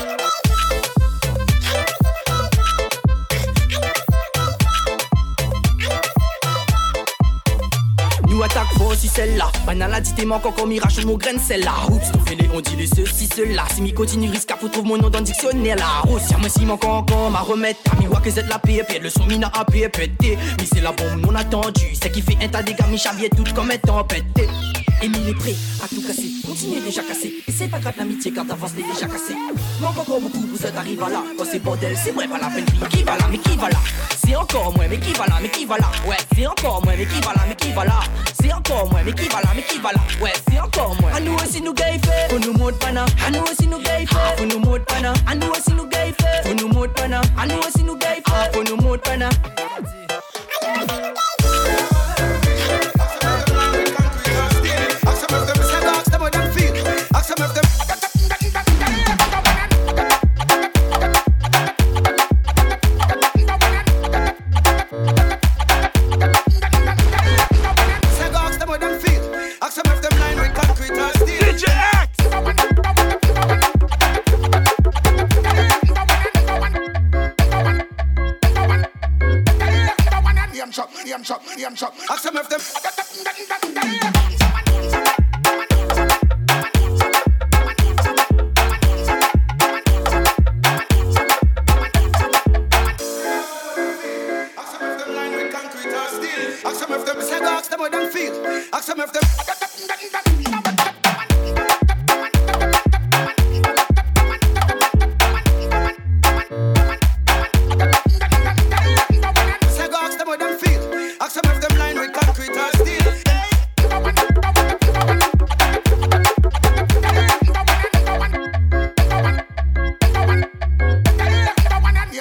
Nous attaque fort si celle-là. Banal a dit t'es manque encore mirage sur mon grain celle-là. Oups, ton fêlé on dit les ceci, cela. Si mi continue risque à faut trouver mon nom dans le dictionnaire là. Oh, si moi si manque encore ma remettre. Mi voit que c'est la paix, puis le son mina a paix pété. Mais c'est la bombe non attendue. C'est qui fait un tas de gars, mi chavier tout comme étant pété. Emile est prêt à tout casser, continuez déjà cassé. Et c'est pas grave l'amitié car d'avance t'es déjà cassé. Manque encore beaucoup, vous êtes arrivé là. Quand c'est bordel, c'est vrai pas la peine. Qui va là, mais qui va là? C'est encore moins, mais qui va là, mais qui va là? Ouais, c'est encore moins, mais qui va là, mais qui va là? C'est encore moins, mais qui va là, mais qui va là? Ouais, c'est encore moins. À nous aussi nous gay fait, faut nous montre pas na. À nous aussi nous gay fait, faut nous montre pas na. À nous aussi nous gay fait, faut nous montre pas na. À nous aussi nous gay fait, faut nous montre pas na.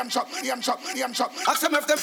yam chop, yam chop, yam chop. Ask them if them.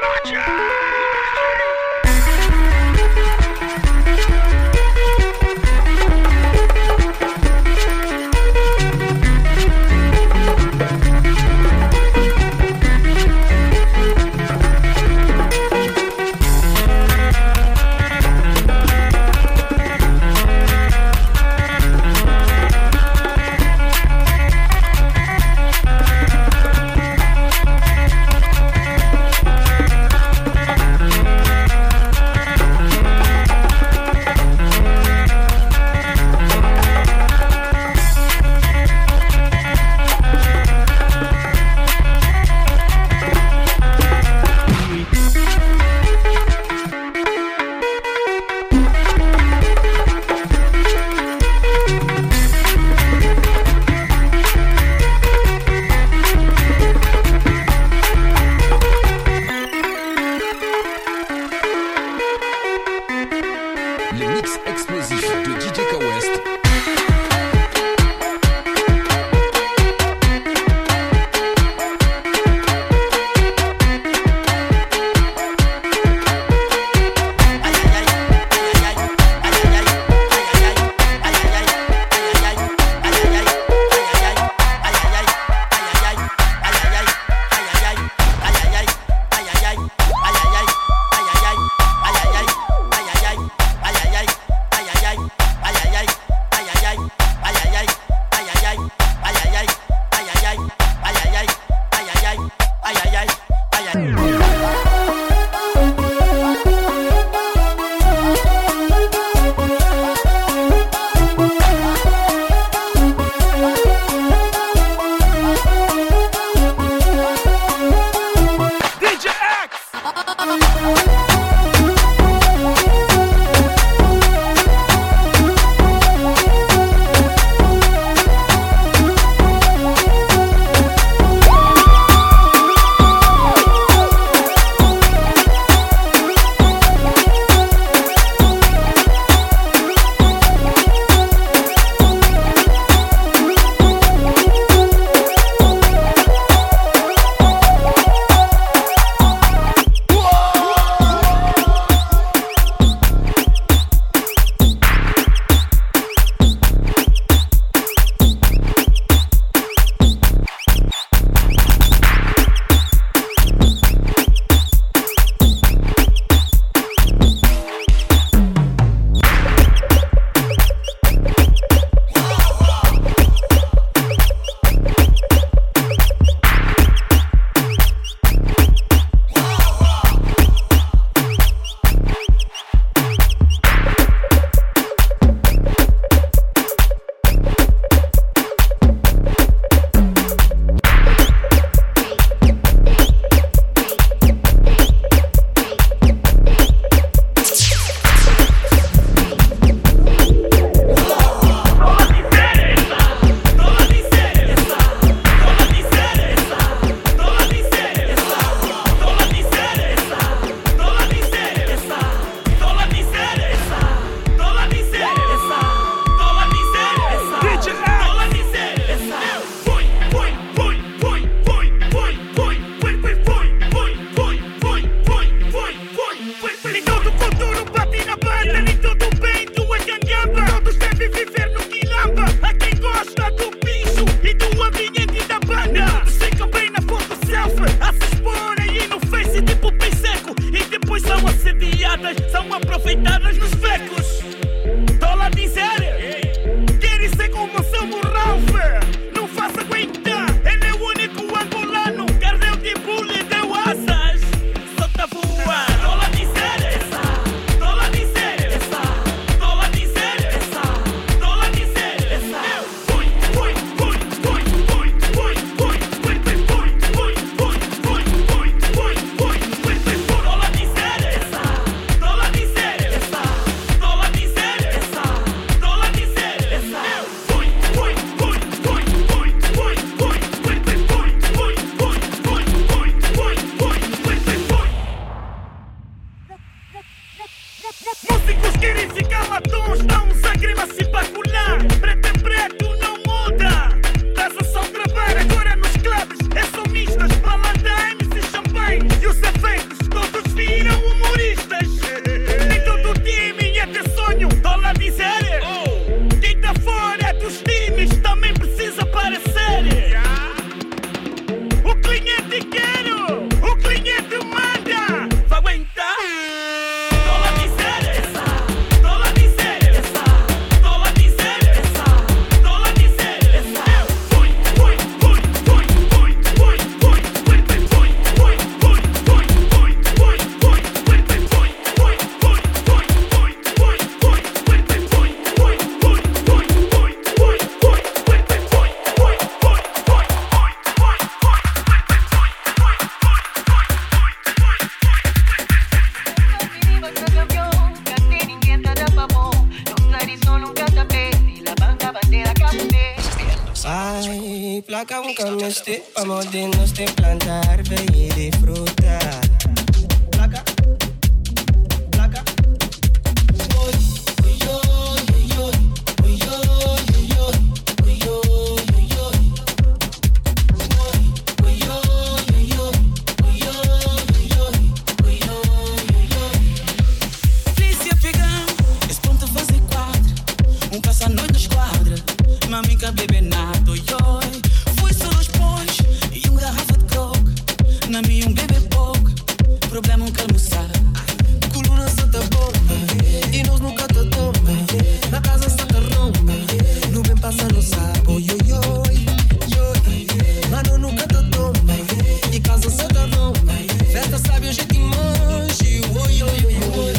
Toda Placa un cambio este, vamos de nos de plantar, y disfrutar. Placa, placa. Mamica bebe nada, oi. Foi só dois pões e um garrafa de coke. Na minha um bebê pouco, problema um calmoçar. Coluna santa bomba e nós nunca te toma. Na casa santa romba, no bem passa no sapo, oi, oi, oi. Mano nunca te toma e casa santa romba. Festa sabe hoje te manche, oi, oi, oi, oi.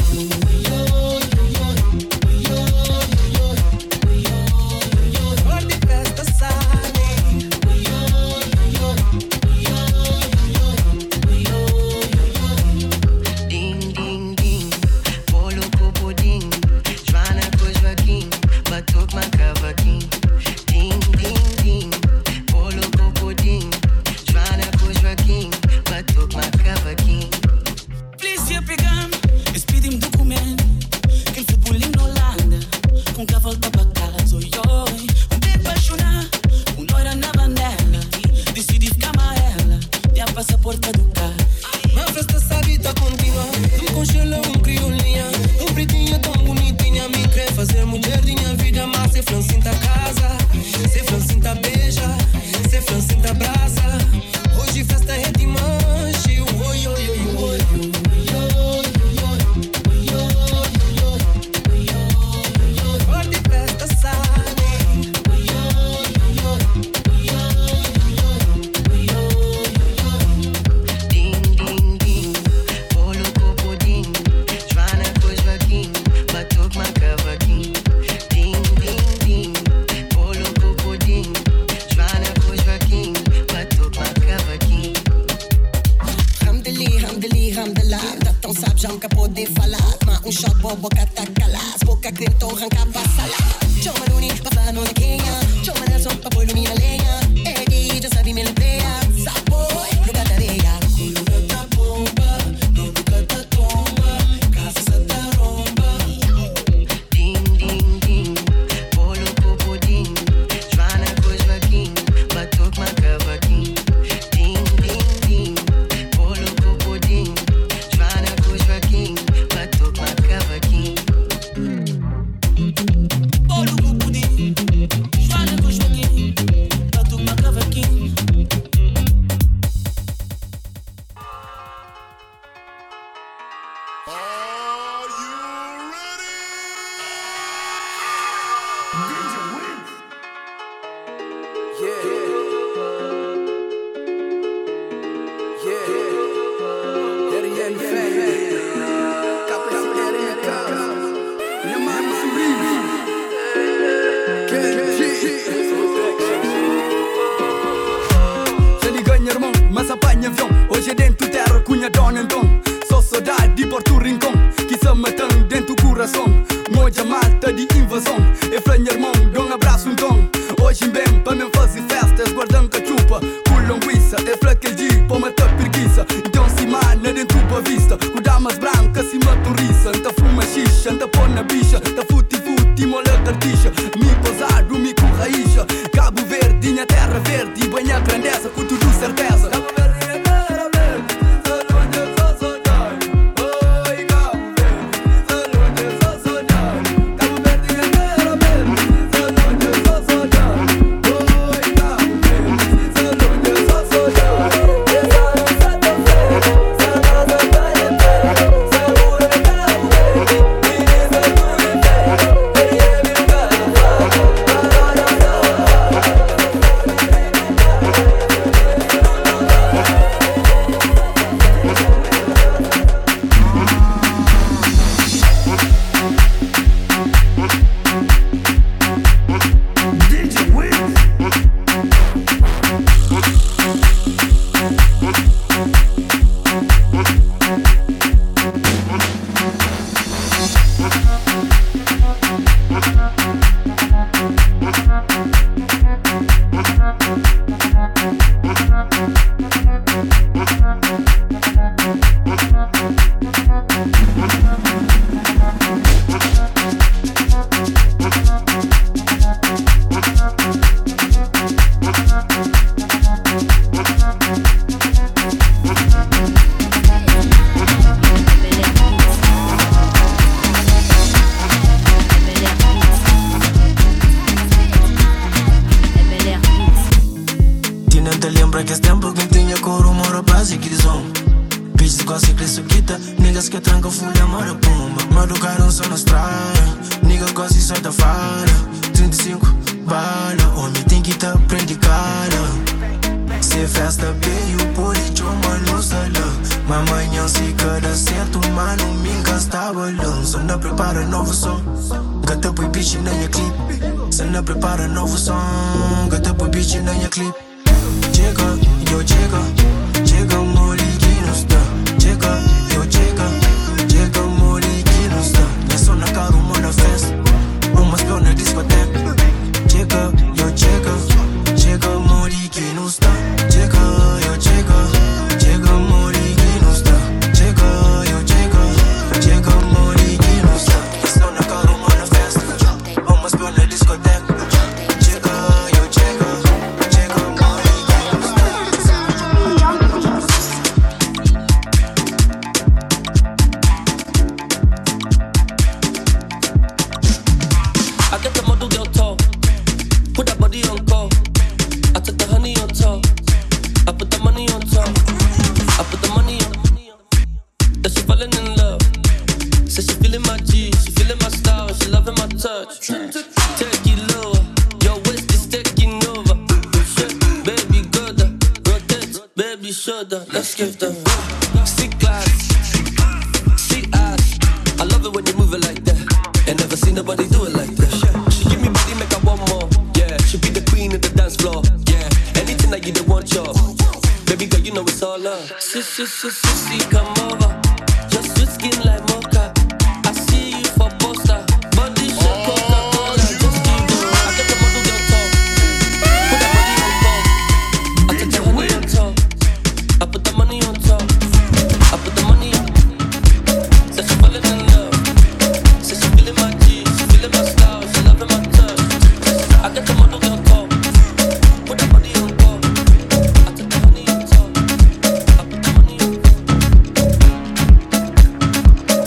We'll be right back. quase que zone. Bitches quase que isso quita. Niggas que tranca folha, mora pumba. Maducaram só na estrada. Nigga quase só da fala. trinta e cinco bala. Homem tem que tá prende cara. Se festa bem, o político, mano, salão. Mamanhã se cada certo, mano, me encasta balão. Só não prepara novo som. Gata põe bitch na minha clip. Só não prepara novo som. Gata põe bitch na minha clip. Chega, eu chega. Chega, mori que não está. Chega, eu chega. Chega, mori que não está. É só na cara, uma na festa. Uma spill na discoteca. Chega, eu chega. Chega, mori que não está. Chega, eu chega. Chega, mori que não está. Chega, eu chega. Chega, mori que não está. É só na cara, uma na festa. Uma spill na discoteca. Chega, eu chega. Chega, mori que não está. I get the model girl tall. Put that body on call. I took the honey on top. I put the money on top. I put the money on. That she falling in love. Says she feeling my G, she feeling my style, she loving my touch. Take it lower, your waist is taking over. Shit, baby, go down, rotate, baby, shoulder. Let's give them sick class, sick ass. I love it when you move it like that. Ain't never seen nobody do it like that. She give me body, make I want more. Yeah, she be the queen of the dance floor. Yeah, anything that you don't want, y'all. Baby girl, you know it's all love. Sis, sis, sis, sis, come over. Just sweet skin like mocha. I see you for poster. Body shape, Coca-Cola. Just keep going. I get the model girl talk. Put that body on top. I take the honey on top. I put the money on top. I put the money on. Said she falling in love. Said she feeling my G, she feeling my style, she loving my touch. I get the model girl talk. Put that body on top. I took the honey on top. I put the money on.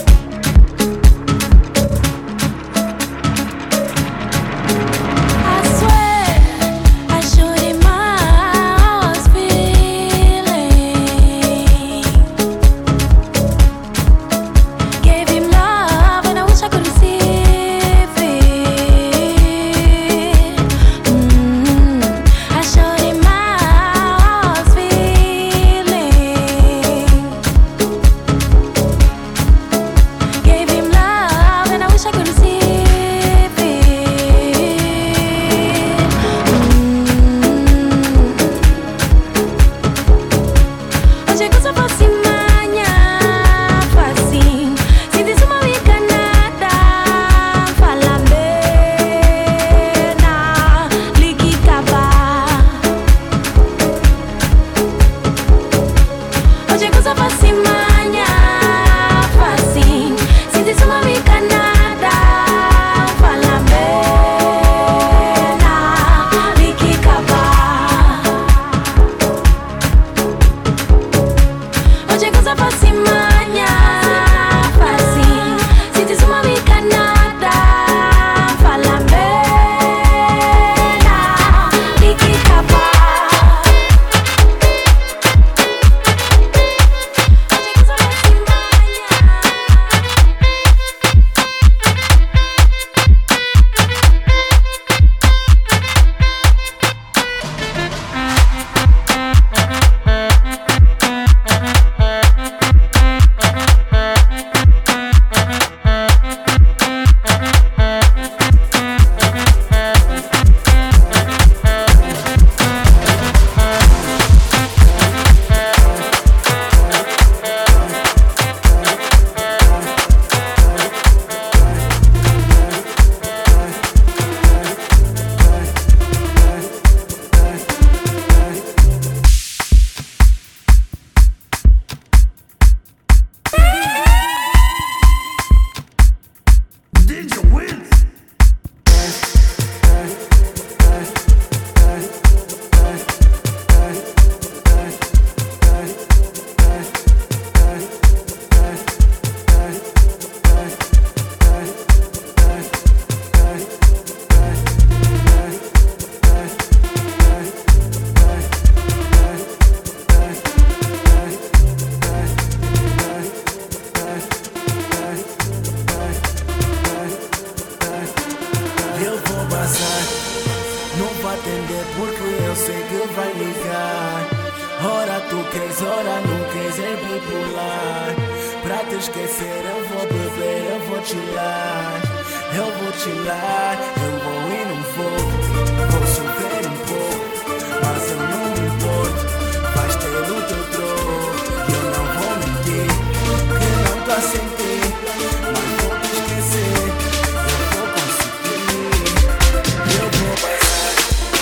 qualquer hora, nunca é bipolar. Pra te esquecer eu vou beber, eu vou chilar. Eu vou chilar, eu vou e não vou. Vou sofrer um pouco, mas eu não me importo. Vais ter o teu troco, eu não vou mentir. Que não tô sem ti, mas vou te esquecer. Eu vou conseguir, eu vou passar.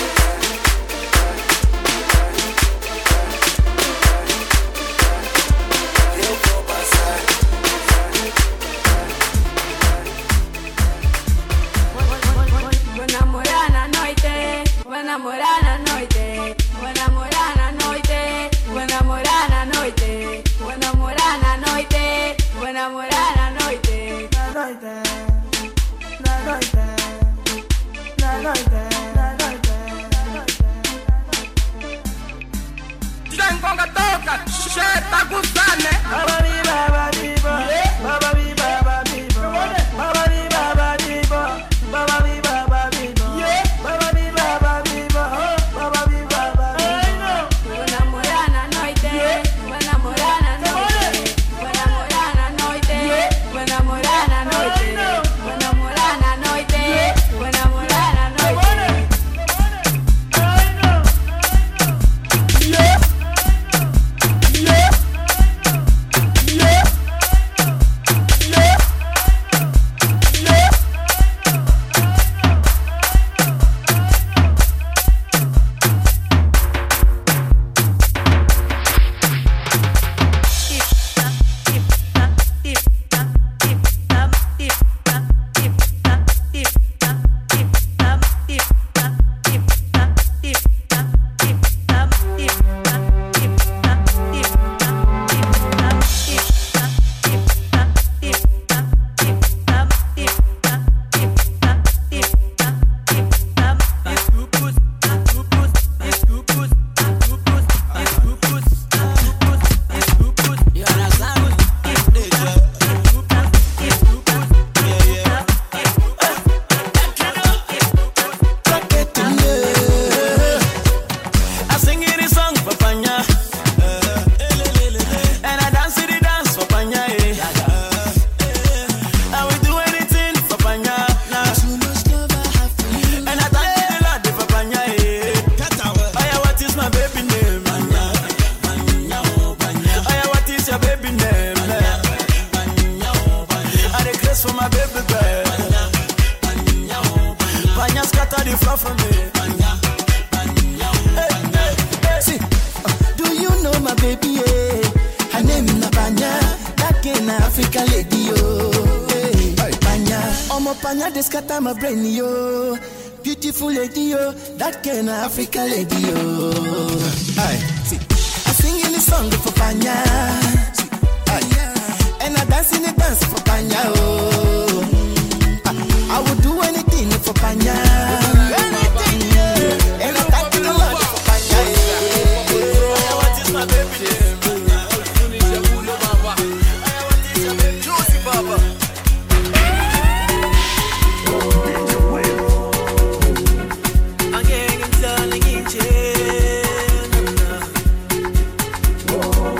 Eu vou passar. Vou namorar na noite, vou namorar na noite, vou namorar na noite, vou namorar na noite, vou namorar na noite, vou namorar na noite, na noite, na noite, na noite, na noite, na noite. Jangonga toca, che tá gostando, né? Babadi babadi ba, babadi babadi ba, babadi babadi ba, babadi babadi ba, babadi babadi ba, babadi babadi ba. Vou namorar na noite, vou namorar na noite, vou namorar na noite, vou namorar na noite, vou namorar na noite, vou namorar na noite. My brain, yo, beautiful lady, yo, that kind of African lady, yo. Aye, see, I sing in the song for Panya, see, aye, and I dance in the dance for Panya, oh. I, I would do anything for Panya, anything, yeah. And I thank you a lot for Panya, yeah. What is my baby name? Juicy Baba. Whoa.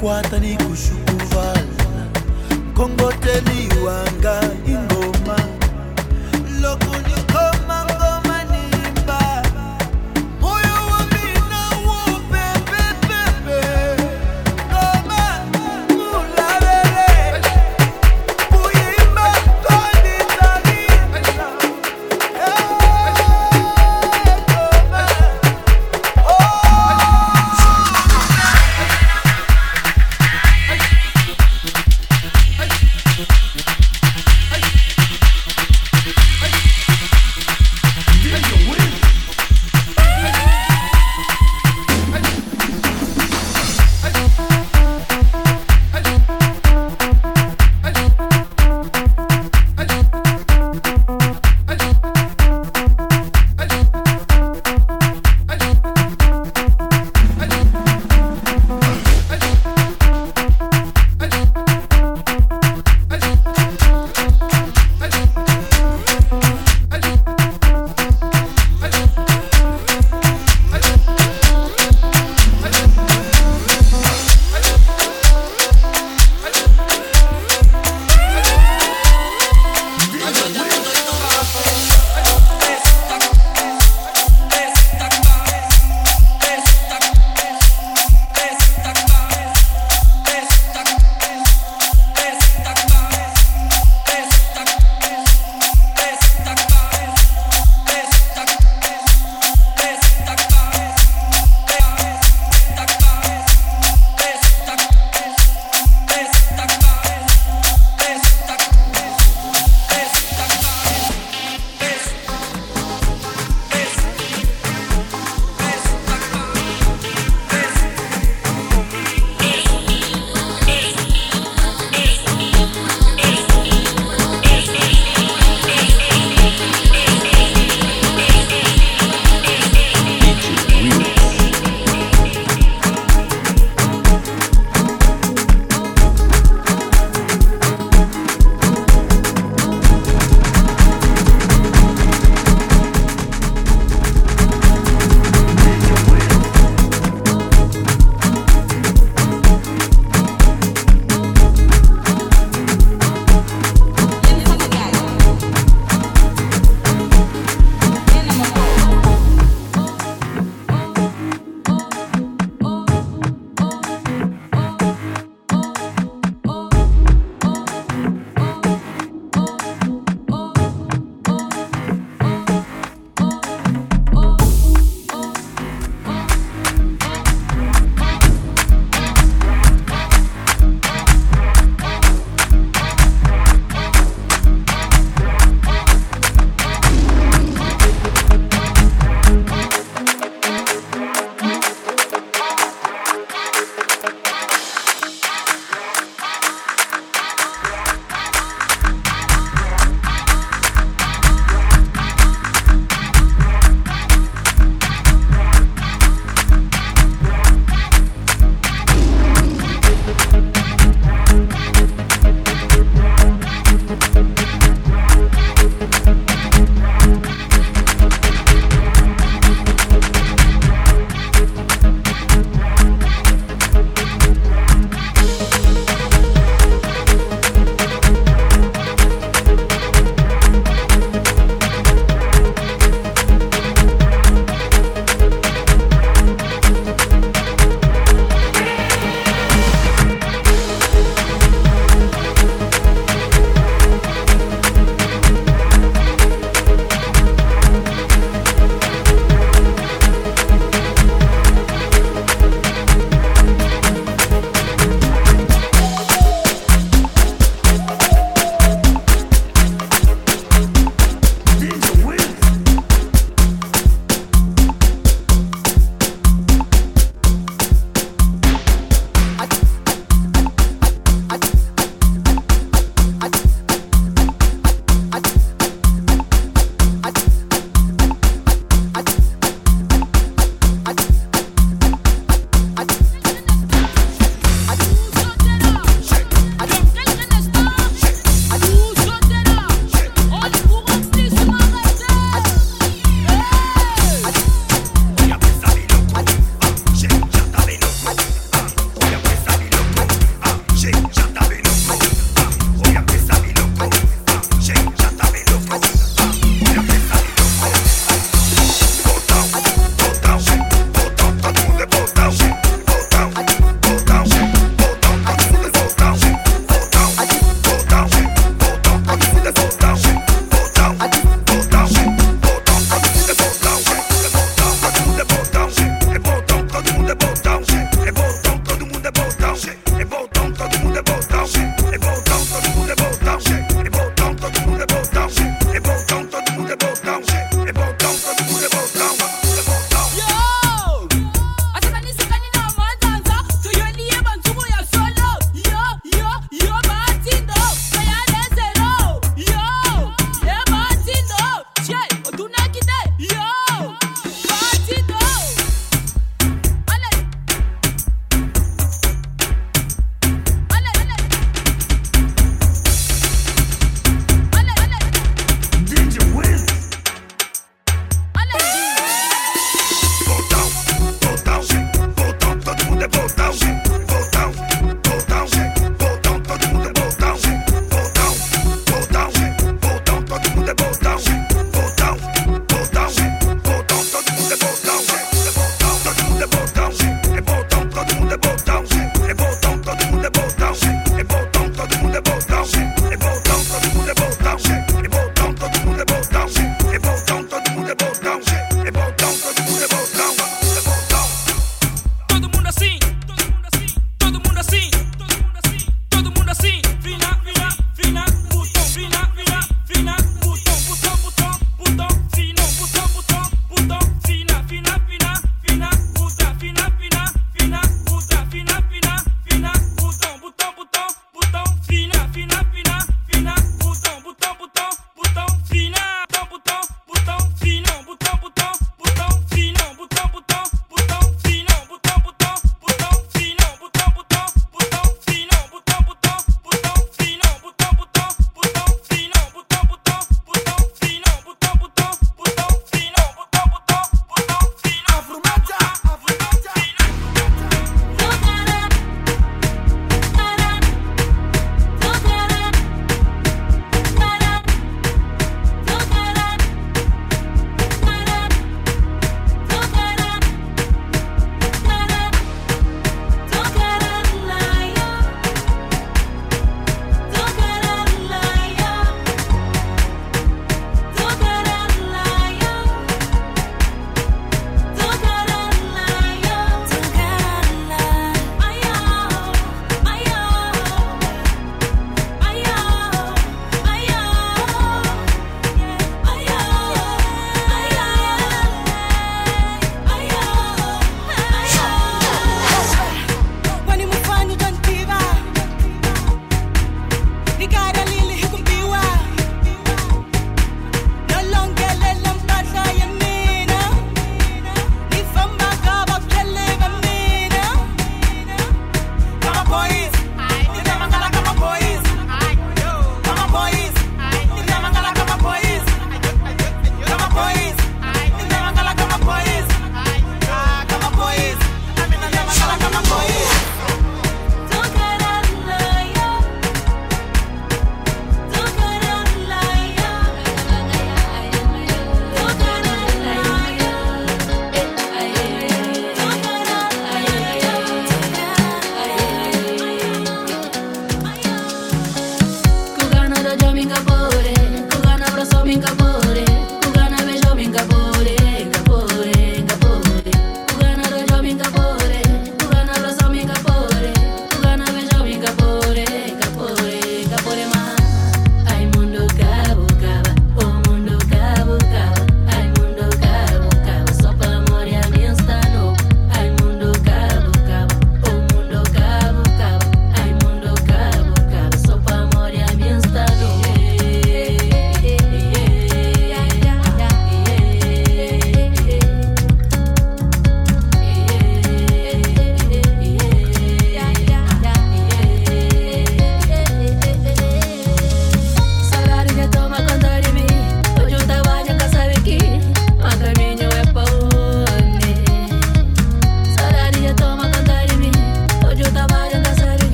kwata ni kushukuvala kongoteli wanga ingoma loko nikoma ngoma nimba moyo wa mina wo pepepepe ngoma mulalele kuimba kodi talisa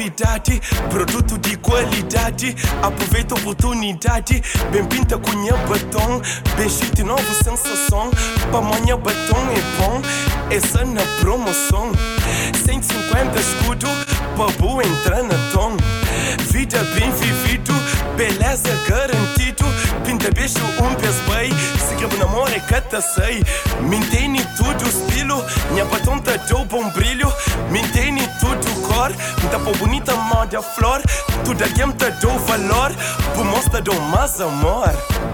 novidade, produto de qualidade. Aproveita a oportunidade, bem pinta com minha batom. Bem chique de novo sensação, pra amanhã batom é bom. Essa na promoção, cento e cinquenta escudo, babu entra na tom. Vida bem vivido, beleza garantido. Pinta beijo um pés bem, se quebra namoro é cata sei. Mantém tudo estilo, minha batom tá deu bom brilho. Mantém tudo cor, tá pô bonita moda flor. Tudo aqui tá deu valor, por mostra do mais amor.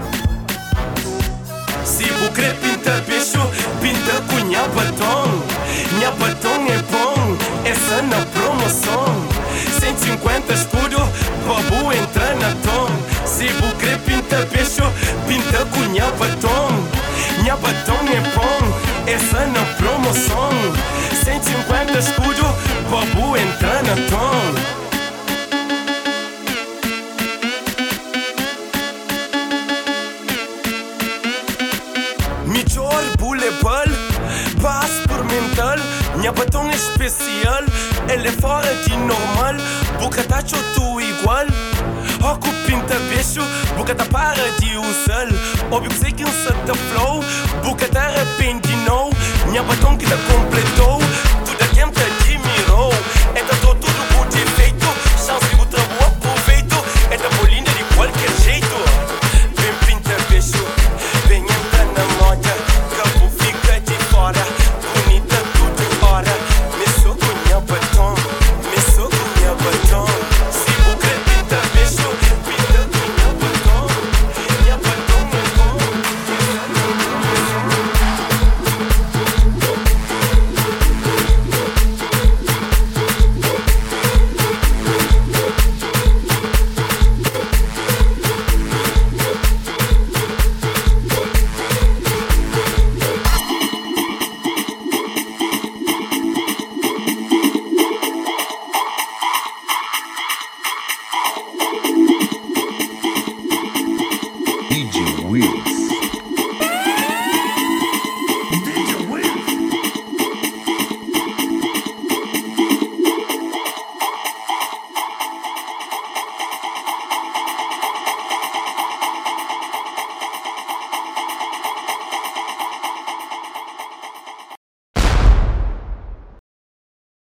Se vous quer pinta beijo, pinta com minha batom. Minha batom é bom, essa na promoção. cento e cinquenta escudo, babu entra na tom. Se vous quer pinta beijo, pinta com minha batom. Minha batom é bom, essa na promoção. cento e cinquenta escudo, babu entra na tom. Mijor boulebol, passe por mental. Minha batom é especial, ela é fora de normal. Boca tá tudo igual. Oco pinta beijo, boca tá para de usar. Óbvio que sei que um certo flow, boca tá arrependido. Minha batom que tá completo,